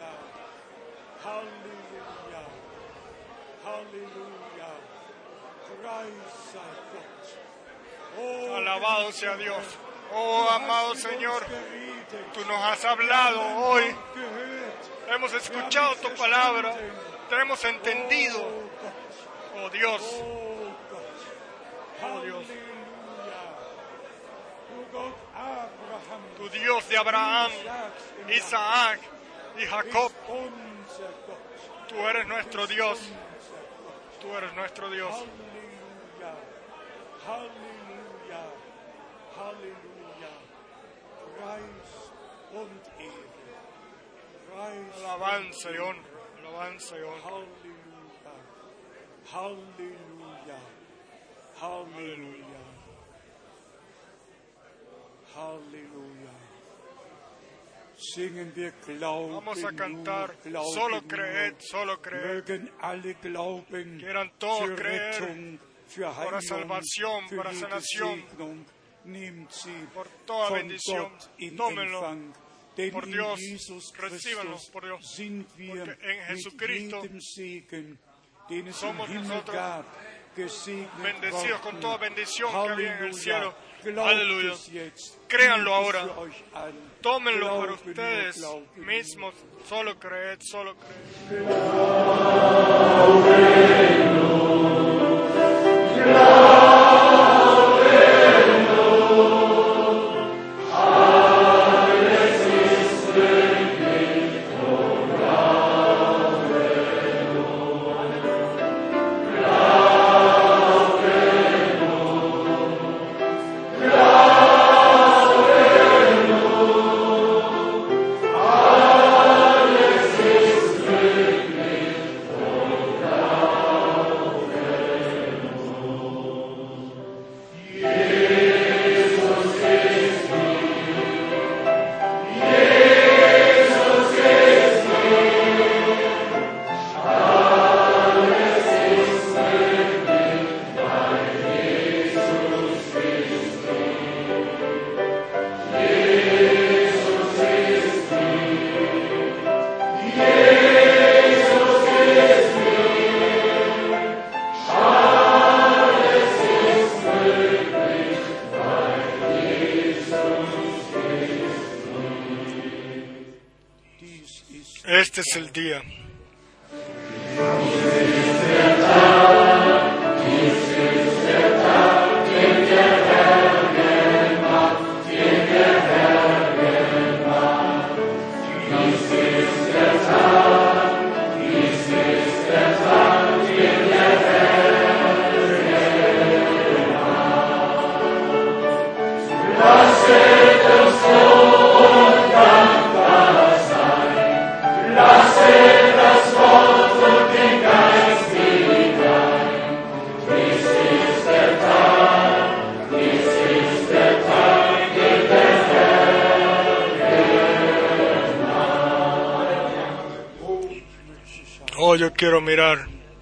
Halleluja. Halleluja. Preis sei Gott. Oh, Alabado sea Dios. Oh, amado Señor, tú nos has hablado hoy. Hemos escuchado tu palabra. Te hemos entendido. Oh Dios. Oh Dios. Tu Dios de Abraham, Isaac y Jacob. Tú eres nuestro Dios. Tú eres nuestro Dios. Halleluja. Halleluja. Preis und Ehre. Preis. Alabanza y honra. Alabanza y honra. Halleluja. Halleluja. Halleluja. Singen wir Glauben. Vamos a cantar. Nur, Glauben Solo nur. creed, solo creed. Mögen alle glauben. Quieran todos für creer Rettung, für para Heilung, salvación, für para jede sanación, Segnung. Nehmt sie por toda von bendición. Gott in Tómenlo Empfang. Denn por in Dios, Jesus recíbanlo Christus por Dios, sind wir porque en mit Jesucristo jedem Segen, den es im somos Himmel nosotros gab, gesegnet bendecidos con worden. toda bendición que había en el Halleluja. cielo. Glaubt Aleluya. es jetzt. Créanlo Nehmt es ahora. für euch an. Tómenlo para Glauben nur, ustedes glauben nur. mismos. Solo creed, solo creed. Este es el día. Oh, yo quiero mirar.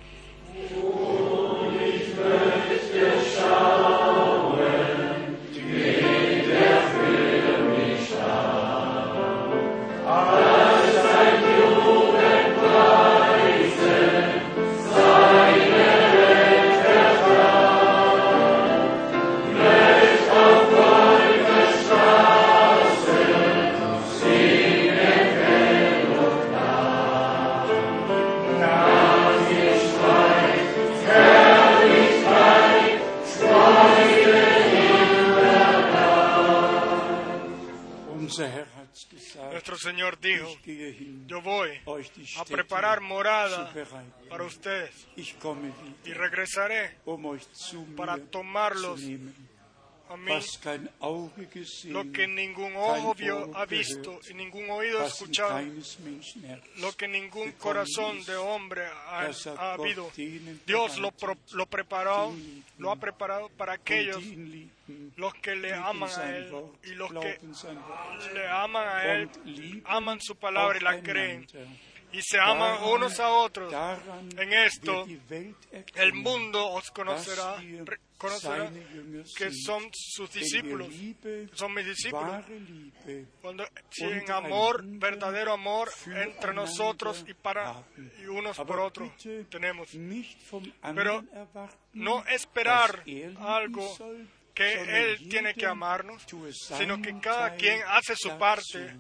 Nuestro Señor dijo, yo voy a preparar morada para ustedes y regresaré para tomarlos a mí was kein Auge gesehen, lo que ningún ojo kein vio, Ohr ha visto y ningún oído ha was in escuchado, keines Menschenherz lo que ningún gekommen corazón ist. de hombre ha, Das hat ha Gott habido. denen Dios lo, pro- bereitet, lo preparó, die ihn lieben lo ha preparado para und aquellos die ihn lieben, los que le lieben aman a sein Él Wort, y los que glauben sein Wort le aman a Él, und lieben aman su palabra y la creen aufeinander. y se aman Daran- unos a otros. daran En esto, wird die Welt El erkennen, mundo os conocerá, dass ihr re- conocerá seine Jünger que sind, son sus wenn wir discípulos, Liebe, son mis discípulos. wahre Liebe Cuando si en amor, verdadero amor entre nosotros füreinander y para haben. y unos por Aber otros bitte tenemos. nicht vom Pero anderen erwarten, no esperar dass er lieben algo soll, que sondern Él tiene que jeder amarnos, tue sino que seinen cada Teil quien hace su dazu. parte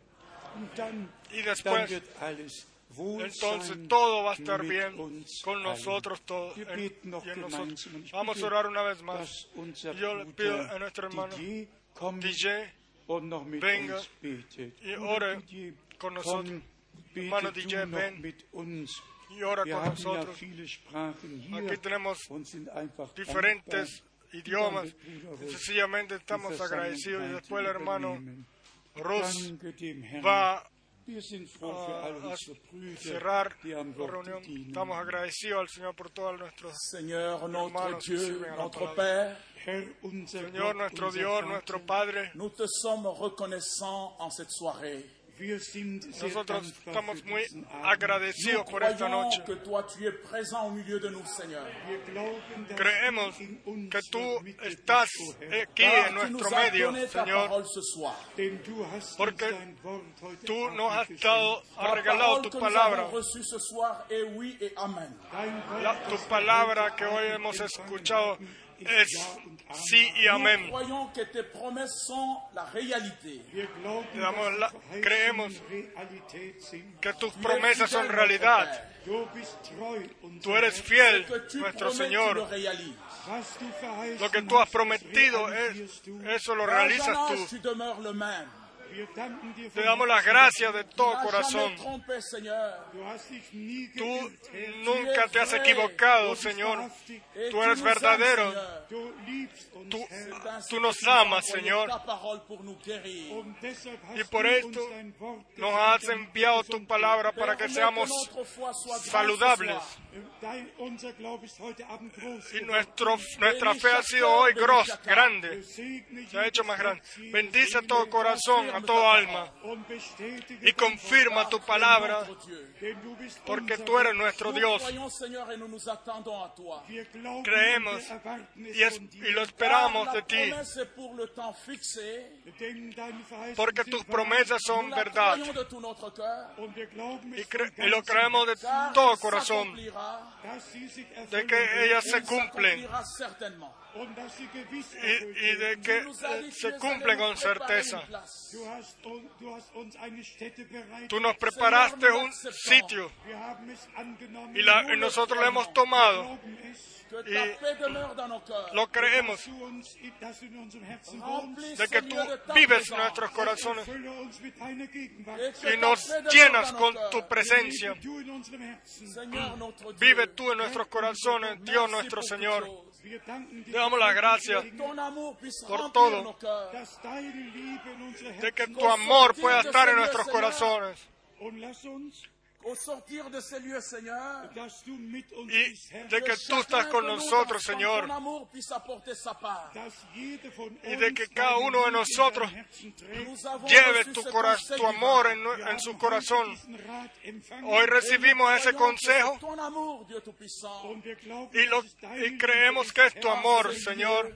Und dann, y dann después wird alles wohl entonces sein todo va a estar mit bien uns con allen. nosotros todos Wir en- beten noch y en nosotros. gemeinsam. Und ich Vamos a bitte, orar una vez más. dass unser Y yo le pido Bruder a nuestro hermano Didier kommt D J und noch mit venga uns betet. y Bruder ore Didier, con nosotros. komm, bete Hermano du D J, noch ven mit uns. y ora Wir con haben ja nosotros. viele Sprachen hier Aquí tenemos und sind einfach diferentes dankbar. idiomas. Danke, Bruder Ruth, Sencillamente die estamos agradecidos y después el hermano übernehmen. Rus Danke dem Herrn. va Wir sind froh für all a unsere Brüder, cerrar die am la Wort reunión. dienen. Estamos agradecidos al Señor por todos nuestros Seigneur, notre hermanos que Dieu, sirven a la notre palabra. Père, Herr, unser Señor, Gott, nuestro unser Dios, Vater, nuestro Padre. nous te sommes reconnaissants en cette soirée. wir sind sehr Nosotros dankbar estamos für muy diesen Abend. agradecidos Nous por esta croyons noche. que toi, tu es présent au milieu de nous, Seigneur. Wir glauben, dass Creemos du in uns que tú Mitte bist, estás o Herr. aquí en Car tu nous nuestro as medio, donné ta Señor, parole ce soir. Denn du hast porque uns dein Wort heute tú Abend nos has geschenkt. dado, has La regalado parole tu que nous palabra, avons reçue ce soir est oui et amen. Dein Wort, La- tu das palabra wir que heute hoy Abend hemos empfangen escuchado haben, ist es Ja und Amen. sí y Nous amén. croyons que tes promesses sont la réalité. Wir glauben, Damos dass la- die Verheißungen creemos Realität sind. Que tus Tu es promesas son fidèle, realidad. notre Père. Du bist treu, unser Tú eres Herr. fiel, Que tu nuestro promets, tu le Señor. réalises. Was du verheißen Lo que tú has hast, prometido, das es- realisierst du. eso lo Dans realizas un âge, tú. tu demeures le même. Wir danken dir Te von damos las Herzen. gracias de Tu todo n'as corazón. jamais trompé, Seigneur. Du hast dich nie Tú geirrt, Herr. nunca te has Du equivocado, bist Señor. wahrhaftig. Et Tú tu eres nous aimes, verdadero. Seigneur. Du liebst uns, Tú, Herr. C'est ainsi tú que nos tu nous as amas, envoyé Señor. ta parole pour nous guérir. Und deshalb hast Y du por uns esto dein Wort nos geschenkt, has damit enviado wir tu gesund palabra para que Permets seamos que notre foi soit grande ce saludables. soir. werden. Dein, unser Glaube ist heute Abend groß Y geworden. nuestro, nuestra fe ha sido hoy gros, grande. Segne Se ha hecho jedes más grande. Herz, jede Bendice a Seele todo corazón, a todo alma. und bestätige Y dein confirma tu palabra, Notre Dieu. Wort, denn du bist porque unser tú eres Gott. nuestro Nous Dios. croyons, Seigneur, et nous nous attendons à toi. Wir glauben, Creemos wir erwarten es y, es- von dir. y lo Car esperamos la de ti, promesse est pour le temps fixé. Denn deine Verheißungen porque sind tus wahr. promesas son Nous la verdad. croyons de tout notre cœur. Und wir glauben Y, es cre- von y lo ganzem creemos de Car todo elle corazón, s'accomplira, dass sie sich de erfüllen que wird ellas se elle cumplen s'accomplira certainement. und dass sie gewiss y, erfüllt y de werden. que Tu nous as eh, dit que tu se es allé cumplen nous con préparer certeza. une place. Du hast, un- du hast uns eine Stätte bereitet. Tú nos preparaste un sitio Wir haben es angenommen. y, la- y nosotros lo hemos tomado. glauben es, Que ta Y paix demeure dans nos cœurs. lo creemos, dass du, uns, dass du in unserem Herzen Remplis, wohnst. de que tú Seigneur, de ta vives présence. nuestros corazones Erfülle uns mit deiner Gegenwart. Et que y ta nos paix demeure llenas dans con nos tu cœurs. presencia. Lebe du in unserem Herzen. Seigneur, notre Dieu. Vive tú en nuestros corazones, Dios Merci nuestro pour Señor. toutes choses. Wir danken dir Te damos las gracias Que ton amour puisse por remplir todo. nos cœurs. dass deine Liebe in unser De que Herzen tu amor pueda estar en nuestros corazones und lass uns, Au sortir de ces lieux, Seigneur, dass du mit uns y bist, Herr, de que tú estás con nosotros, Señor, ton amour puisse apporter sa part. dass jede von y de uns que cada deine uno de Liebe in nosotros seinem Herzen trägt. Nous avons lleve reçu tu, ce cora- conseil tu divin. amor en, Wir nu- en haben su heute corazón. diesen Rat empfangen. Hoy Et nous recibimos ese croyons que consejo c'est ton amour, Dieu Tout-Puissant, Und wir glauben, y, lo- dass es deine y creemos Liebe que ist, es tu Herr, amor, Señor,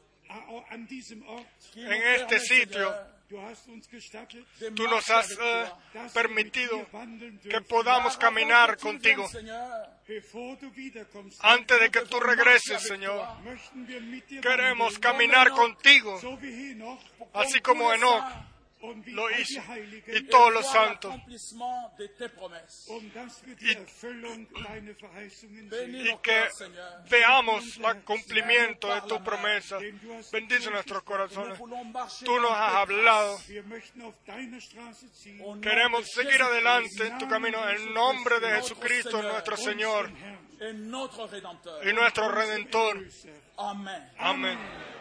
a- an diesem Ort. qui en nous este permet, sitio. Seigneur, Du hast uns gestattet, de Tú nos marcher has avec eh, toi. dass permitido wir mit dir wandeln que dürfen. podamos Car avant caminar que tu contigo viennes, Seigneur, Bevor du wiederkommst, antes de que tú que regreses, marche avec Señor. toi. möchten wir mit dir Queremos wandeln, caminar contigo, so wie Henoch así como Enoch und wie lo all hizo, die Heiligen, y todos los voir santos, l'accomplissement de tes promesses. und dass wir die y- Erfüllung deiner Verheißungen Bénis sehen. y nos que cœurs, Seigneur. veamos el cumplimiento de tu promesa. Denn du hast Bendice nuestros Nous corazones. voulons marcher Tú dans nos has tes hablado. Wir möchten auf deiner Straße ziehen. Au nom Queremos de seguir Jésus-Christ, adelante en tu camino en el nombre de Jesucristo, nuestro Señor et notre Rédempteur. y nuestro Redentor. Amen. Amén.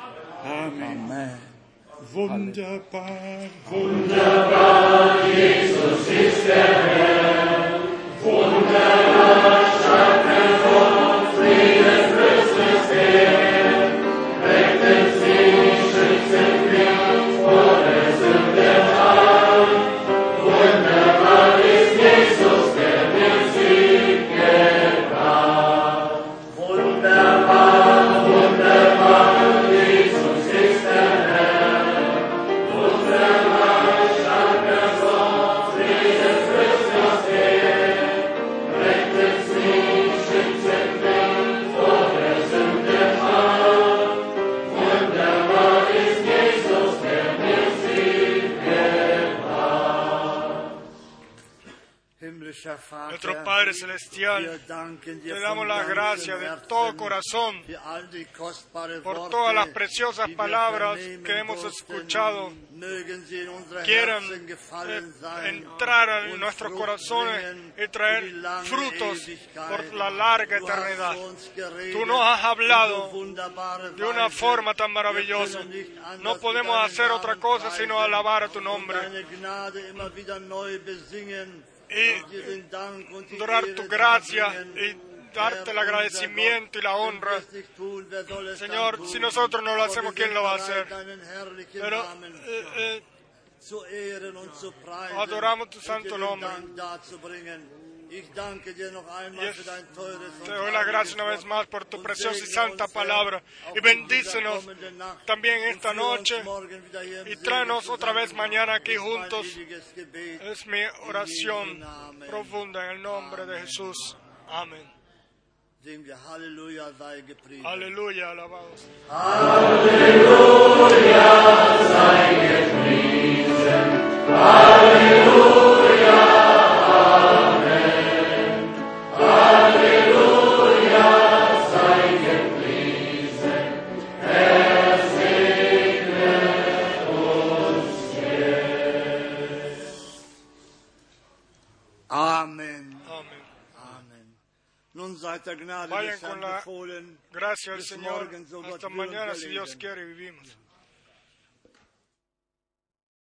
Amen. Amen. Wunderbar, Wunderbar, Jesus ist der Herr. Wunderbar, Schöpfer von Frieden, größtes Heer. Retten Sie, schützen mich vor der Sünde an. Wunderbar ist Jesus, der mir Sieg gebracht. Wunderbar, wunderbar, Jesus ist der Herr. Wunderbar, starker Gott, Frieden, größtes Heer. Rettet Sie, schützen mich vor der Sünde an. Wunderbar ist Jesus, der mir Sieg gebracht. Himmlischer Nuestro Vater, Padre wir Celestial, danken dir te damos von las ganzem gracias de Herzen todo corazón für all die kostbare por Worte, todas las preciosas die wir palabras vernehmen que hemos durften. escuchado. Mögen sie in unsere Quieran Herzen gefallen eh, sein, entrar en und nuestros Frucht corazones bringen y traer für die lange frutos Ewigkeit. por la larga Du hast eternidad. zu uns geredet Tú nos has hablado in so wunderbare de una Weise. forma tan Wir maravillosa. können nicht anders No podemos wie hacer deinen otra Namen cosa sino preisen alabar a tu und nombre deine Gnade immer wieder neu besingen y und dir den Dank und die adorar Ehre tu gracia darbringen. y darte el agradecimiento y la honra. Señor, si nosotros no lo hacemos, ¿quién lo va a hacer? Pero eh, eh, adoramos tu santo nombre. Y es- te doy las gracias una vez más por tu preciosa y santa palabra. Y bendícenos también esta noche y tráenos otra vez mañana aquí juntos. Es mi oración profunda en el nombre de Jesús. Amén. Aleluya, alabados. Amen. Amén. Amen. Nun seid der Gnade Vayan des con Herrn la befohlen. gracias al Bis Señor. morgen, so Gott Hasta will und mañana, wir si Dios leben. quiere, vivimos.